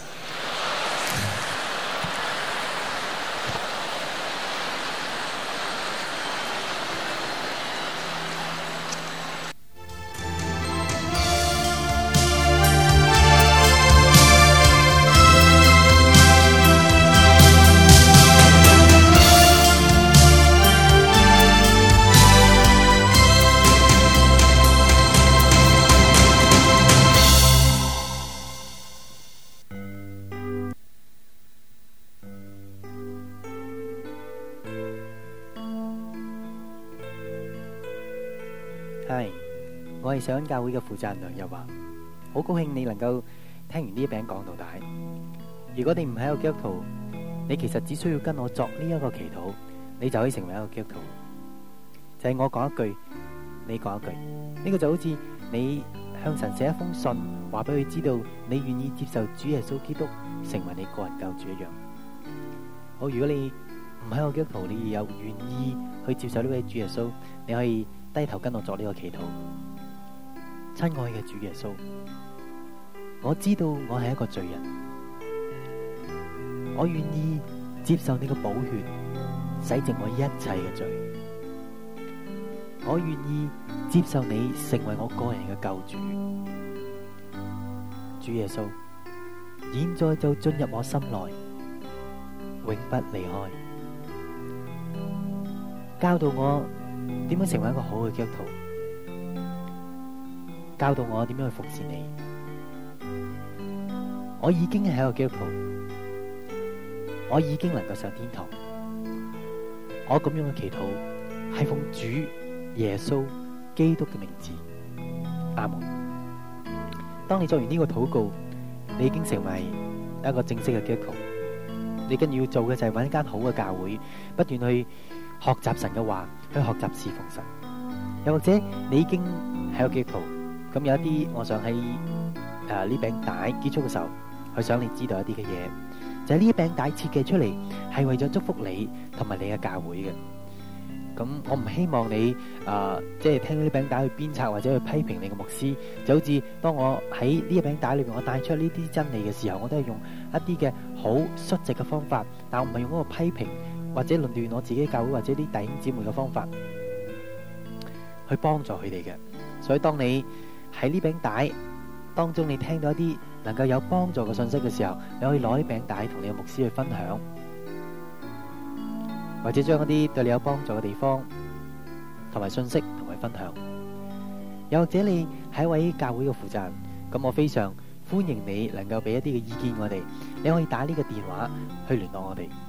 係，我係上恩教會嘅負責人梁日華，好高興你能夠聽完呢一餅講到底。如果你唔係一個基督徒，你其實只需要跟我作呢一個祈禱，你就可以成為一個基督徒。就係我講一句，你講一句，呢個就好似你向神寫一封信，話俾佢知道你願意接受主耶穌基督成為你個人救主一樣。好，如果你唔係一個基督徒，你有願意去接受呢位主耶穌，你可以低頭跟我作呢個祈禱。親愛嘅主耶穌，我知道我係一個罪人，我願意接受你嘅寶血洗淨我一切嘅罪，我願意接受你成為我個人嘅救主。主耶穌，現在就進入我心內，永不離開，教導我點樣成為一個好嘅基督徒，教導我點樣去服侍你。我已經係一個基督徒，我已經能夠上天堂。我咁樣嘅祈禱係奉主耶穌基督嘅名字，阿門。當你做完呢個禱告，你已經成為一個正式嘅基督徒。你跟住要做嘅就係揾一間好嘅教會，不斷去學習神嘅話，去學習侍奉神。又或者你已經係個基督徒，咁有一啲，我想喺誒呢餅帶結束嘅時候，去想你知道一啲嘅嘢，就係呢一餅帶設計出嚟係為咗祝福你同埋你嘅教會嘅。咁我唔希望你誒即係聽呢餅帶去鞭策或者去批評你嘅牧師，就好似當我喺呢一餅帶裏邊我帶出呢啲真理嘅時候，我都係用一啲嘅好率直嘅方法，但我唔係用嗰個批評或者論斷我自己教會或者啲弟兄姊妹嘅方法去幫助佢哋嘅。所以當你喺呢餅帶當中你聽到一啲能夠有幫助嘅信息嘅時候，你可以攞呢餅帶同你嘅牧師去分享，或者將一啲對你有幫助嘅地方同埋信息同佢分享。又或者你係一位教會嘅負責人，咁我非常歡迎你能夠俾一啲嘅意見我哋。你可以打呢個電話去聯絡我哋。